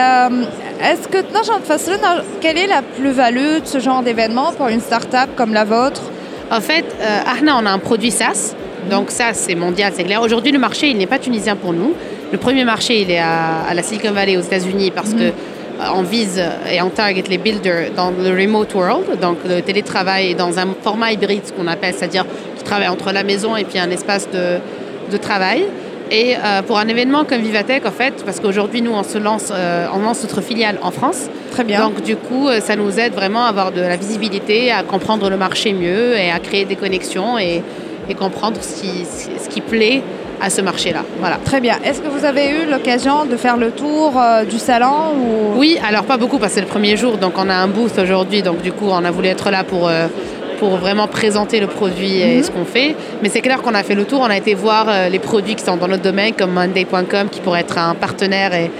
Euh, est-ce que, quelle est la plus-value de ce genre d'événement pour une start-up comme la vôtre? En fait, euh, Ahna, on a un produit SaaS. Donc ça, c'est mondial, c'est clair. Aujourd'hui, le marché, il n'est pas tunisien pour nous. Le premier marché, il est à, à la Silicon Valley aux États-Unis parce mm-hmm. que on vise et on target les builders dans le remote world, donc le télétravail dans un format hybride, ce qu'on appelle, c'est-à-dire qui travaille entre la maison et puis un espace de, de travail. Et euh, pour un événement comme Vivatech, en fait, parce qu'aujourd'hui, nous, on se lance, euh, on lance notre filiale en France. Très bien. Donc, du coup, ça nous aide vraiment à avoir de la visibilité, à comprendre le marché mieux et à créer des connexions et, et comprendre ce qui, ce qui plaît à ce marché-là. Voilà. Très bien. Est-ce que vous avez eu l'occasion de faire le tour euh, du salon ou... Oui, alors pas beaucoup parce que c'est le premier jour, donc on a un booth aujourd'hui, donc du coup on a voulu être là pour, euh, pour vraiment présenter le produit et mm-hmm. ce qu'on fait. Mais c'est clair qu'on a fait le tour, on a été voir euh, les produits qui sont dans notre domaine comme Monday point com qui pourrait être un partenaire et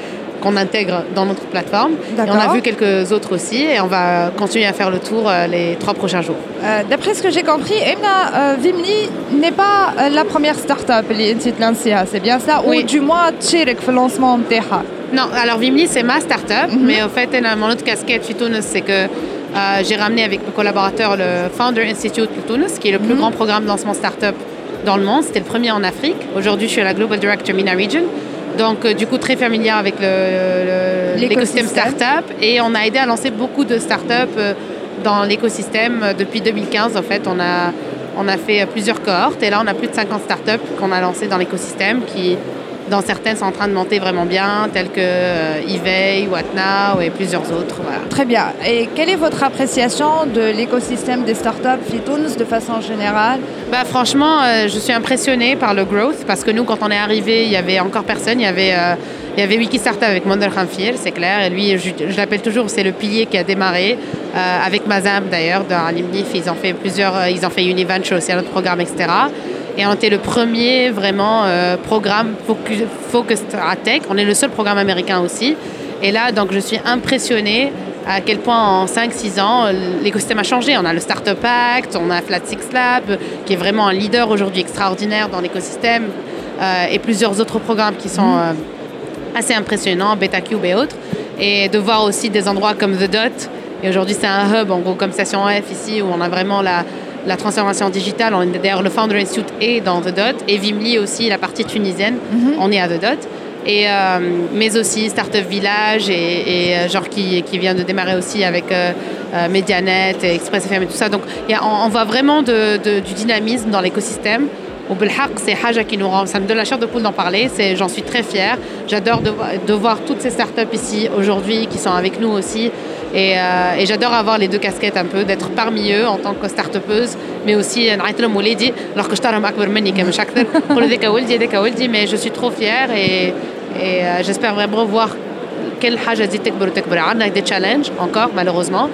qu'on intègre dans notre plateforme. Et on a vu quelques autres aussi et on va continuer à faire le tour euh, les trois prochains jours. Euh, d'après ce que j'ai compris, Emna, euh, Vimli n'est pas euh, la première start-up qui est lancée, c'est bien ça? Oui. Ou du moins, تشارك في lancement نتاعها. Non, alors Vimli c'est ma start-up, mm-hmm. mais au fait, mon autre casquette chez Tunis, c'est que euh, j'ai ramené avec mes collaborateurs le Founder Institute pour Tunis, qui est le plus mm-hmm. grand programme de lancement start-up dans le monde. C'était le premier en Afrique. Aujourd'hui, je suis la Global Director MENA Region. Donc, euh, du coup, très familière avec le, le, l'écosystème start-up. Et on a aidé à lancer beaucoup de start-up euh, dans l'écosystème. Depuis deux mille quinze, en fait, on a, on a fait plusieurs cohortes. Et là, on a plus de cinquante start-up qu'on a lancées dans l'écosystème qui, dans certaines, sont en train de monter vraiment bien, telles que euh, eVay, Whatnow et plusieurs autres. Voilà. Très bien. Et quelle est votre appréciation de l'écosystème des startups Tunis de façon générale? Bah, franchement, euh, je suis impressionnée par le growth parce que nous, quand on est arrivé, il y avait encore personne. Il y avait, euh, il y avait Wiki Startup avec Monder Khamfir, c'est clair. Et lui, je, je l'appelle toujours, c'est le pilier qui a démarré euh, avec Mazam d'ailleurs, dans Alimnif. Ils ont fait plusieurs, euh, ils ont fait Univenture aussi, un autre programme, et cetera. Et on était le premier vraiment euh, programme focus, focus à tech. On est le seul programme américain aussi. Et là, donc, je suis impressionnée à quel point en cinq six ans, l'écosystème a changé. On a le Startup Act, on a Flat Six Lab, qui est vraiment un leader aujourd'hui extraordinaire dans l'écosystème, euh, et plusieurs autres programmes qui sont euh, assez impressionnants, BetaCube et autres. Et de voir aussi des endroits comme The Dot. Et aujourd'hui, c'est un hub, en gros, comme Station F ici, où on a vraiment la... la transformation digitale. On est d'ailleurs le Founder Institute est dans The Dot et Vimli aussi, la partie tunisienne, mm-hmm. on est à The Dot. Et, euh, mais aussi Startup Village et, et genre qui, qui vient de démarrer aussi avec euh, euh, Medianet et Express F M et tout ça. Donc y a, on, on voit vraiment de, de, du dynamisme dans l'écosystème. Au Belhaq, c'est Haja qui nous rend, ça me donne la chair de poule d'en parler, c'est, j'en suis très fière. J'adore de, de voir toutes ces startups ici aujourd'hui qui sont avec nous aussi. Et, euh, et j'adore avoir les deux casquettes un peu, d'être parmi eux en tant que start-upeuse, mais aussi نعيط لهم ولادي alors que je أكبر مني كمان مش أكثر نقول ذاك ولدي ذاك ولدي mais je suis trop fière et, et euh, j'espère vraiment voir quelle حاجة تزيد تكبر وتكبر. عندنا des challenges encore malheureusement.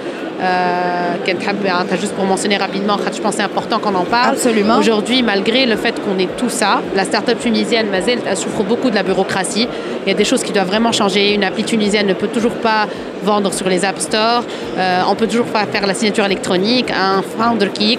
Euh, juste pour mentionner rapidement, je pense que c'est important qu'on en parle. Absolument. Aujourd'hui, malgré le fait qu'on ait tout ça, la start-up tunisienne, Mazel, elle souffre beaucoup de la bureaucratie. Il y a des choses qui doivent vraiment changer. Une appli tunisienne ne peut toujours pas vendre sur les App Store. Euh, on peut toujours pas faire la signature électronique. Un founder qui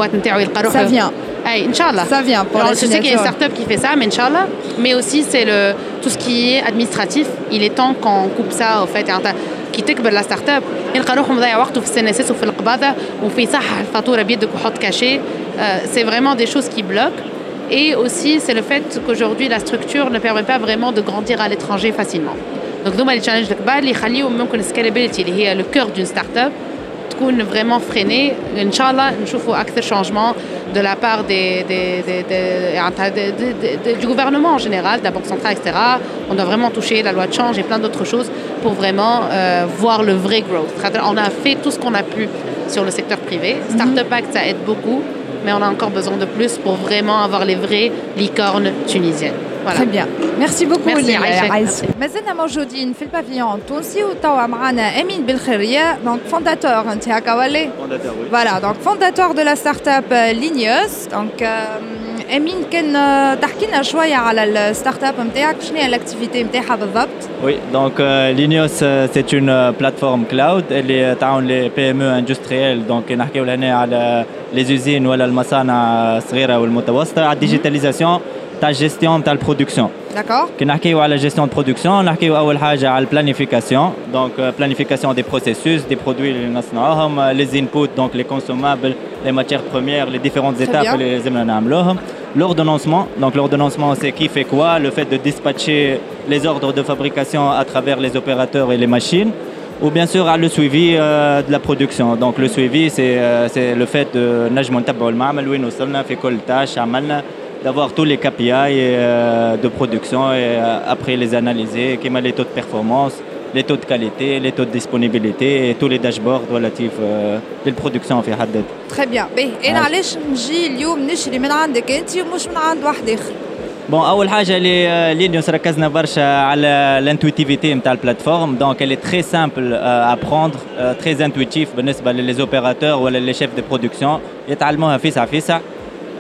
ça vient. Hey, Inch'Allah. Ça vient pour Alors, la je sais qu'il y a une start-up qui fait ça, mais Inch'Allah. Mais aussi, c'est le, tout ce qui est administratif. Il est temps qu'on coupe ça, au fait. كي تكبر لا ستارت اب يلقى روحه مضيع وقته في السي ان اس اس وفي القباضه وفي صح الفاتوره بيدك وحط كاشي. C'est vraiment des choses qui bloquent. Et aussi, c'est le fait qu'aujourd'hui, la structure ne permet pas vraiment de grandir à l'étranger facilement. Donc, nous, les challenges الكبار اللي يخليوا ممكن scalability اللي هي le cœur d'une start-up تكون vraiment freinée. Inch'Allah, نشوفوا أكثر changement de la part des, des, des, des, des, des, des, du gouvernement en général, de la Banque centrale, et cetera. On doit vraiment toucher la loi de change et plein d'autres choses pour vraiment euh, voir le vrai growth. On a fait tout ce qu'on a pu sur le secteur privé. Startup Act, ça aide beaucoup, mais on a encore besoin de plus pour vraiment avoir les vraies licornes tunisiennes. Voilà. Très bien. Merci beaucoup. Merci Aïcha. مازلنا موجودين في البافيون التونسي وتوا معنا أمين بالخيرية donc fondateur أنت هكا ولا؟ Fondateur oui. Voilà donc fondateur de la start-up Linios donc أمين كان تحكي لنا شوية على الستارت-up نتاعك شنو هي الأكتيفيتي نتاعها بالضبط؟ Oui donc euh, Linios c'est une plateforme cloud اللي تعاون les P M E industriels donc نحكيو هنا على les usines ولا المصانع الصغيرة والمتوسطة على الديجيتاليزاسيون تاع gestion تاع البرودكسيون. D'accord. كي نحكيو على gestion de production نحكيو أول حاجة على planification donc planification des processus des produits اللي نصنعوهم les inputs donc les consommables les matières premières les différentes étapes اللي لازمنا نعملوهم. L'ordonnancement donc l'ordonnancement c'est qui fait quoi, le fait de dispatcher les ordres de fabrication à travers les opérateurs et les machines ou bien sûr le suivi euh, de la production. Donc le suivi c'est euh, c'est le fait de نجمو نتبعوا المعمل وين وصلنا في كل tâche عملنا d'avoir tous les K P I euh, de production et euh, après les analyser, comme les taux de performance, les taux de qualité, les taux de disponibilité et tous les dashboards relatifs euh, للproduction في حد ذاتها. Très bien. باهي أنا علاش نجي اليوم نشري من عندك أنت ومش من عند واحد آخر؟ Bon, أول حاجة اللي لينيوس ركزنا برشا على l'intuitivité نتاع البلاتفورم donc elle est très simple euh, à prendre, euh, très intuitif بالنسبة للopérateurs ولا les chefs de production يتعلموها فيسع فيسع.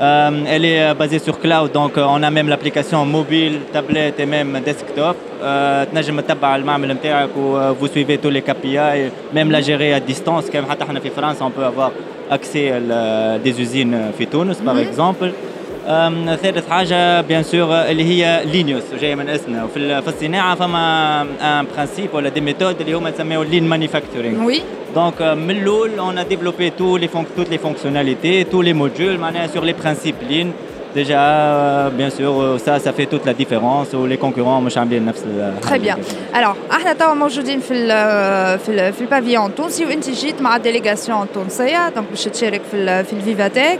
Euh, elle est basée sur cloud, donc on a même l'application mobile, tablette et même desktop. تنجم تتبع المعمل نتاعك و vous suivez tous les K P I, même la gérer à distance. كما حتى احنا في فرنسا on peut avoir accès à des usines في تونس par exemple. ثالث حاجه بيان سور اللي هي لينيوس جايه من اسمنا. وفي في الصناعه فما ان برانسيب ولا دي ميثود اللي هما يسميو لين مانيفاكتورينغ. وي دونك من الاول on a développé tous les toutes les fonctionnalités, tous les modules معناها sur les principes lean. Déjà, euh, bien sûr, ça, ça fait toute la différence. Ou les concurrents, مش عاملين نفس. Très bien. Alors, احنا توا موجودين في ال في ال في البافيون التونسي وانت جيت مع الديليغاسيون التونسيه دونك باش تشارك في ال في الفيفاتيك.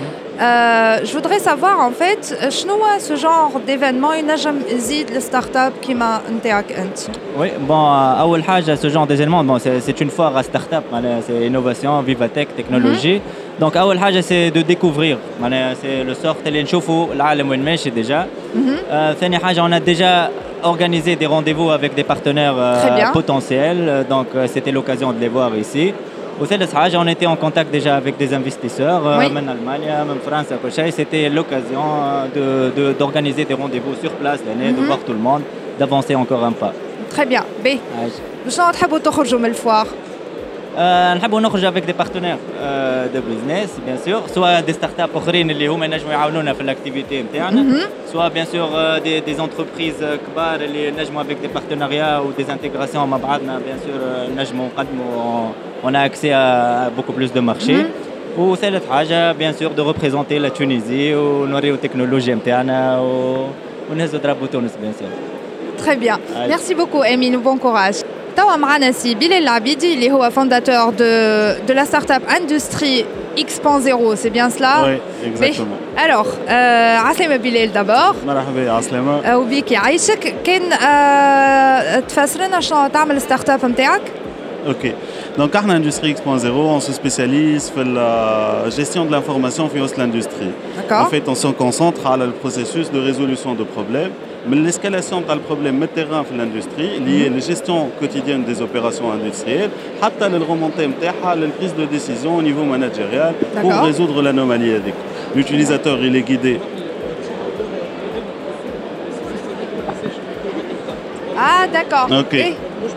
Euh, je voudrais savoir en fait, شنو ce genre d'événement ينجم يزيد الستارت اب كيما نتاعك انت؟ Oui, bon, أول حاجة ce genre d'événement, bon, c'est, c'est une foire à start-up, c'est innovation, Vivatech, technologie. Mm-hmm. Donc أول حاجة c'est de découvrir, c'est le sort اللي نشوفوا العالم وين ماشي déjà. Mm-hmm. ثاني حاجة on a déjà organisé des rendez-vous avec des partenaires euh, potentiels, donc euh, c'était l'occasion de les voir ici. وثالث حاجة on était en contact déjà avec des investisseurs oui. من ألمانيا من فرنسا كل شيء. C'était l'occasion de, de, d'organiser des rendez-vous sur place l'année, mm-hmm. de voir tout le monde, d'avancer encore un pas. Très bien. B. شنو تحبوا تخرجوا من الفوار؟ نحبوا نخرج avec des partenaires euh, de business bien sûr, soit des startups اخرين اللي هما ينجموا يعاونونا في الاكتيفيتي نتاعنا, soit bien sûr euh, des, des entreprises كبار اللي نجموا avec des partenariats ou des intégrations مع بعضنا bien sûr نجموا نقدموا. On a accès à beaucoup plus de marchés. Mm-hmm. وثالث حاجة bien sûr de représenter la Tunisie ونوريو التكنولوجيا نتاعنا ونهزوا درابو تونس bien sûr. Très bien. Allez. Merci beaucoup Emile, bon courage. توا معنا سي بلال العبيدي اللي هو fondateur de de la startup Industrie X point zéro, c'est bien cela? Oui, exactement. Mais, alors, euh, عسلامة بلال d'abord. مرحبا عسلامة. وبيك يعيشك. كان euh, تفسر لنا شنو تعمل الستارت اب نتاعك؟ Ok. Donc, à Industrie X point zéro, on se spécialise dans la gestion de l'information via l'industrie. En fait, on se concentre sur le processus de résolution de problèmes, mais l'escalation du problème de terrain dans l'industrie, liée à la gestion quotidienne des opérations industrielles, jusqu'à la remontée de la prise de décision au niveau managérial pour résoudre l'anomalie. L'utilisateur, il est guidé. Ah, d'accord. Ok. Et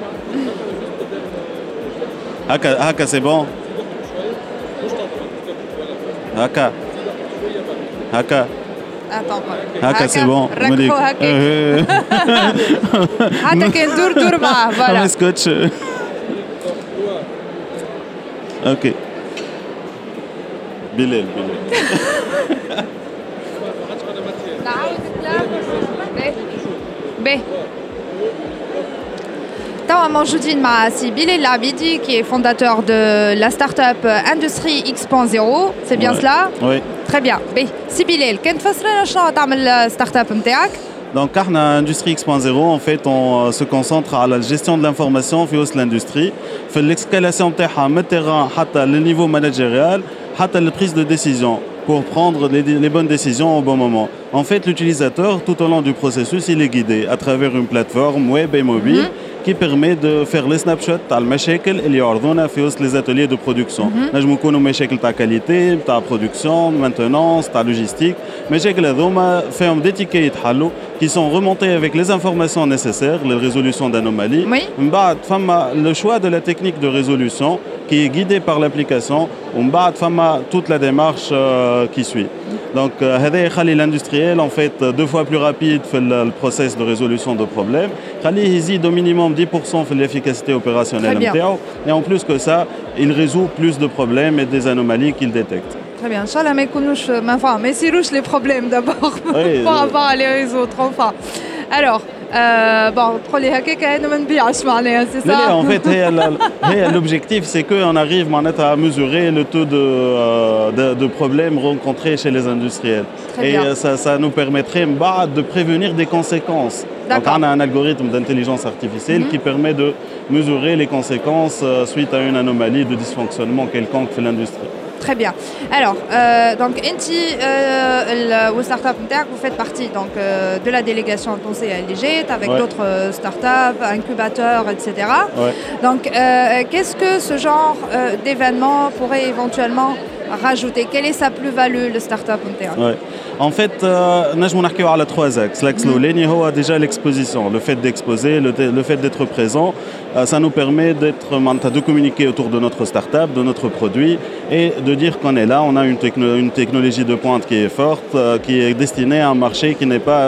Haka, haka c'est bon. Haka. Haka. Attends. Haka c'est bon. ركبوا هكا. حتى كان دور دور معاه. Voilà. Scotch. Ok. بلال بلال. نعاود الكلام. ب. توا موجودين مع سي بلال العبيدي qui est fondateur de la startup Industrie X point zéro, c'est bien ouais. cela? Oui. Très bien. بي سي بلال كان تفسر لنا شنو تعمل الستارت اب نتاعك؟ Donc, à Industrie X point zéro, en fait, on se concentre à la gestion de l'information via l'industrie, fait l'escalation de terrain à le niveau managérial, à la prise de décision pour prendre les, les bonnes décisions au bon moment. En fait, l'utilisateur, tout au long du processus, il est guidé à travers une plateforme web et mobile. Mm-hmm. qui permet de faire les snapshots تاع المشاكل اللي يعرضونا في وسط les ateliers de production. نجموا يكونوا مشاكل تاع كاليتي، تاع برودكسيون، مانتونانس، تاع لوجيستيك. مشاكل هذوما فيهم دي تيكي يتحلوا qui sont remontés avec les informations nécessaires, les résolutions d'anomalies. Oui. من بعد فما le choix de la technique de résolution qui est guidée par l'application. ومن بعد فما toute la démarche euh, qui suit. Donc هذا يخلي l'industriel en fait deux fois plus rapide في le process de résolution de problèmes. يخليه يزيد au minimum dix pour cent في l'efficacité opérationnelle نتاعو. Et en plus que ça, il résout plus de problèmes et des anomalies qu'il détecte. Très bien. Inch'Allah ما يكونوش ما enfin mais يصيروش les problèmes d'abord oui, pour avoir les résoudre enfin. Alors Euh, bon, تقولي هكاك انا ما نبيعش معناها سي ça. En fait, هي l'objectif c'est que on arrive à mesurer le taux de, de de problèmes rencontrés chez les industriels. Très et bien. ça ça nous permettrait de prévenir des conséquences. Donc on a un algorithme d'intelligence artificielle mm-hmm. qui permet de mesurer les conséquences suite à une anomalie de dysfonctionnement quelconque de l'industrie. Très bien. Alors, euh, donc, Enti, euh, le startup Nterk, vous faites partie donc, euh, de la délégation Tonsé à L G, avec ouais. d'autres euh, startups, incubateurs, et cetera. Ouais. Donc, euh, qu'est-ce que ce genre euh, d'événement pourrait éventuellement rajouter? Quelle est sa plus-value, le start-up ouais. En fait, nous avons à trois axes. L'axe l'Oleni, c'est déjà l'exposition, le fait d'exposer, le, le fait d'être présent. Ça nous permet d'être, de communiquer autour de notre start-up, de notre produit et de dire qu'on est là. On a une, techno, une technologie de pointe qui est forte, qui est destinée à un marché qui n'est pas,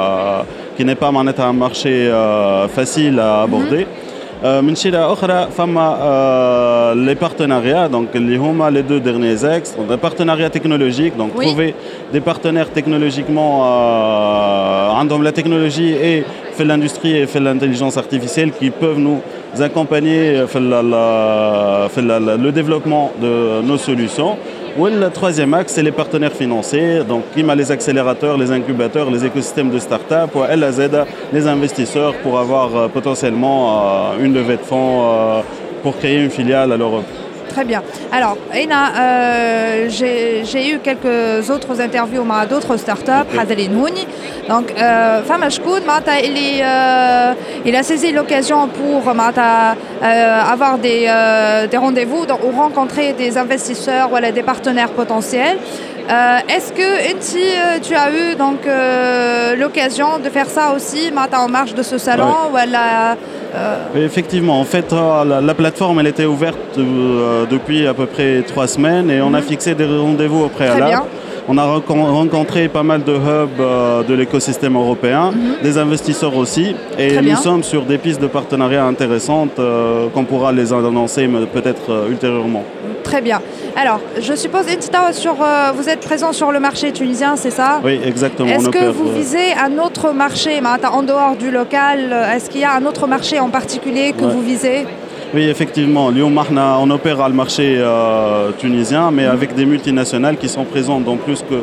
qui n'est pas un marché facile à aborder. من شيء أخرى فما les partenariats donc اللي هما les deux derniers axes des partenariats technologiques donc oui. trouver des partenaires technologiquement euh, عندهم la technologie et fait l'industrie et fait l'intelligence artificielle qui peuvent nous accompagner fait la, la, fait la, la, le développement de nos solutions. Et le troisième axe, c'est les partenaires financiers, donc qui m'a les accélérateurs, les incubateurs, les écosystèmes de start-up, ou L A Z, les investisseurs pour avoir euh, potentiellement euh, une levée de fonds euh, pour créer une filiale à l'Europe. Très bien. Alors, Aina, euh, j'ai eu quelques autres interviews avec d'autres startups, okay. Donc, euh, Fama Shkoun, il, euh, il a saisi l'occasion pour euh, avoir des, euh, des rendez-vous ou rencontrer des investisseurs ou des partenaires potentiels. Euh, Est-ce que Enti, tu as eu donc euh, l'occasion de faire ça aussi en marge de ce salon ouais. ou elle a, euh... Effectivement, en fait, la, la plateforme elle était ouverte euh, depuis à peu près trois semaines et on mm-hmm. a fixé des rendez-vous au préalable. On a rencontré pas mal de hubs euh, de l'écosystème européen, mm-hmm. des investisseurs aussi, et Très nous bien. sommes sur des pistes de partenariat intéressantes euh, qu'on pourra les annoncer peut-être euh, ultérieurement. Très bien. Alors, je suppose, Entita, sur, euh, vous êtes présent sur le marché tunisien, c'est ça? Oui, exactement. Est-ce que vous visez un autre marché, en dehors du local? Est-ce qu'il y a un autre marché en particulier que ouais. vous visez? Oui, effectivement. On opère à le marché euh, tunisien, mais mmh. avec des multinationales qui sont présentes dans plus que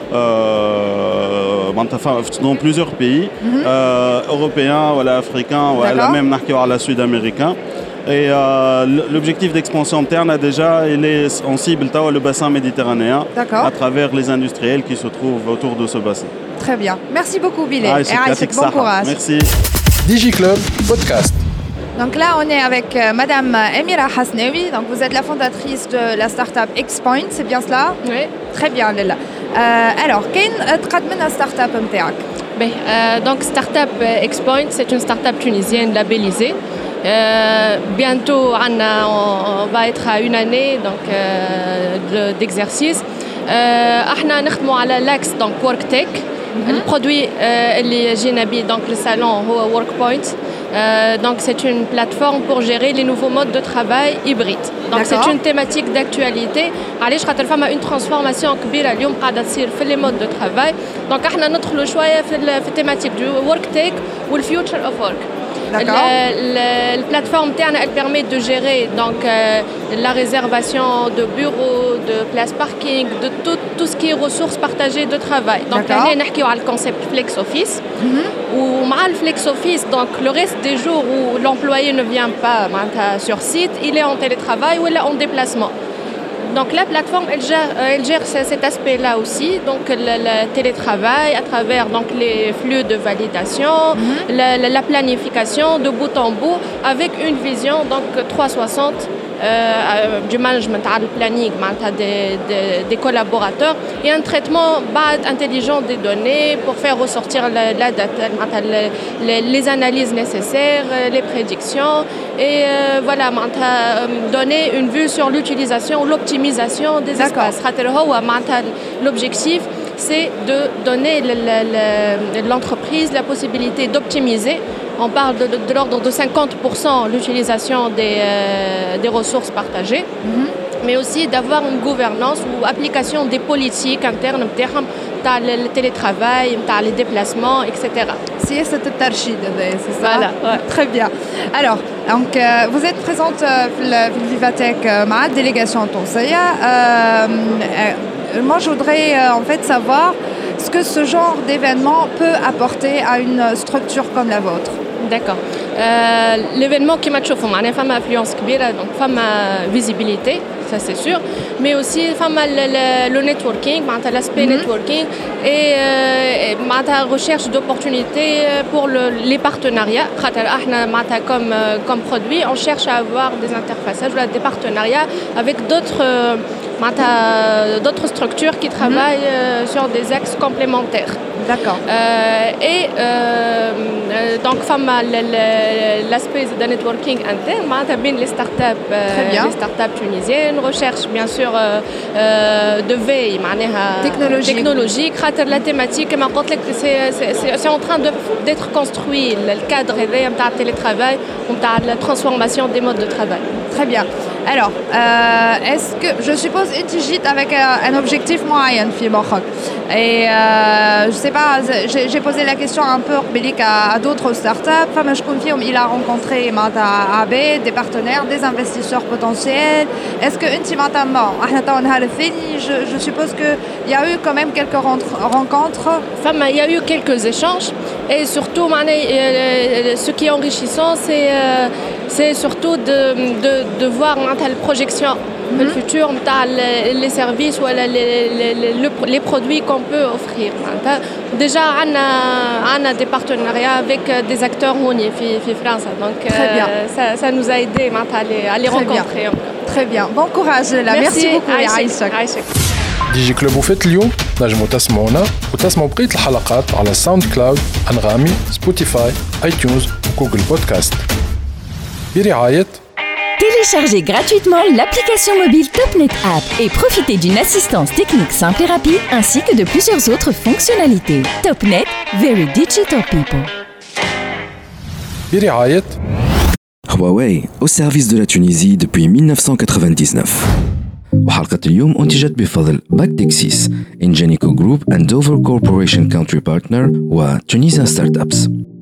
euh, dans plusieurs pays mmh. euh, européens, voilà, africains, voilà, même à la sud-américain. Et euh, l'objectif d'expansion interne a déjà, il est en cible le bassin méditerranéen à travers les industriels qui se trouvent autour de ce bassin. Très bien. Merci beaucoup, Billy. Ah, et Aïsek, bon courage. Merci. DigiClub Podcast. Donc là, on est avec euh, Madame Emira Hasnaoui. Donc vous êtes la fondatrice de la start-up Xpoint, c'est bien cela? Oui. Très bien, Lila. Euh, alors, quelle est la start-up نتاعك? euh, Donc, start-up Xpoint, c'est une start-up tunisienne labellisée. Euh, bientôt, on, a, on va être à une année donc, euh, d'exercice. Euh, nous travaillons sur l'axe donc WorkTech. Mm-hmm. Le produit اللي جينا به donc le salon هو WorkPoint. Euh, donc c'est une plateforme pour gérer les nouveaux modes de travail hybrides. Donc c'est une thématique d'actualité. علاش خاطر فما une transformation كبيرة اليوم قاعدة تصير في les modes de travail. Donc احنا ندخلوا شوية في في التيماتيك du WorkTech ou le future of work. La, la, la plateforme Terne, elle permet de gérer donc, euh, la réservation de bureaux, de places parking, de tout, tout ce qui est ressources partagées de travail. Donc, on a le concept Flex Office. Mm-hmm. Ou le Flex Office, donc le reste des jours où l'employé ne vient pas sur site, il est en télétravail ou il est en déplacement. Donc la plateforme, elle gère, elle gère cet aspect-là aussi, donc le, le télétravail à travers donc, les flux de validation, mm-hmm. la, la, la planification de bout en bout, avec une vision donc trois cent soixante euh, du management, le planning des, des, des collaborateurs et un traitement intelligent des données pour faire ressortir la, la data, les, les analyses nécessaires, les prédictions et euh, voilà, donner une vue sur l'utilisation ou l'optimisation des espaces. L'objectif, c'est de donner l'entreprise la possibilité d'optimiser. On parle de, de, de l'ordre de cinquante pour cent l'utilisation des, euh, des ressources partagées, mm-hmm. mais aussi d'avoir une gouvernance ou application des politiques internes, le télétravail, les déplacements, et cetera. C'est ça, c'est ça. Voilà, ouais. Très bien. Alors, donc, euh, vous êtes présente euh, la Vivatech euh, ma délégation Tonsaya. Euh, euh, moi, je voudrais euh, en fait savoir ce que ce genre d'événement peut apporter à une structure comme la vôtre. D'accord. Euh, l'événement qui m'a chauffé, il y a une influence كبيرة, donc une visibilité, ça c'est sûr, mais aussi le, le, le networking, l'aspect mm-hmm. networking et, euh, et la recherche d'opportunités pour le, les partenariats. Comme, comme produit, on cherche à avoir des interfaçages, des partenariats avec d'autres d'autres structures qui travaillent mm-hmm. sur des axes complémentaires. D'accord. Euh, et euh, donc, l'aspect de networking interne, bien les startups, euh, les startups tunisiennes, recherche bien sûr euh, euh, de veille, technologique. technologique. La thématique, c'est en train d'être construit, le cadre de télétravail, de la transformation des modes de travail. Très bien. Alors, euh, est-ce que je suppose que tu gîtes avec un, un objectif moyen, et euh, je sais pas, j'ai posé la question un peu à, à d'autres startups. Il a rencontré A B, des partenaires, des investisseurs potentiels. Est-ce que intimement, je, je suppose qu'il y a eu quand même quelques rencontres. Il y a eu quelques échanges et surtout, ce qui est enrichissant, c'est c'est surtout de, de, de voir la projection mm-hmm. le futur, les services ou les, les, les, les produits qu'on peut offrir. Déjà, on a des partenariats avec des acteurs en France, donc Très bien. Euh, ça, ça nous a aidé à les, à les Très rencontrer. Bien. Très bien. Bon courage là. Merci, Merci beaucoup Aïcha. ديجي كلوب وفات اليوم نجموا تسمعونا وتسمعوا بقية الحلقات على ساوند كلاود، أنغامي، سبوتيفاي، آي تيونز وجوجل بودكاست. برعاية Téléchargez gratuitement l'application mobile TopNet App et profitez d'une assistance technique simple et rapide ainsi que de plusieurs autres fonctionnalités. TopNet, very digital people. برعاية Huawei, au service de la Tunisie depuis mille neuf cent quatre-vingt-dix-neuf. وحلقة اليوم أنتجت بفضل باكتكسيس إنجينيكو جروب and Dover Corporation Country Partner و Tunisian Startups.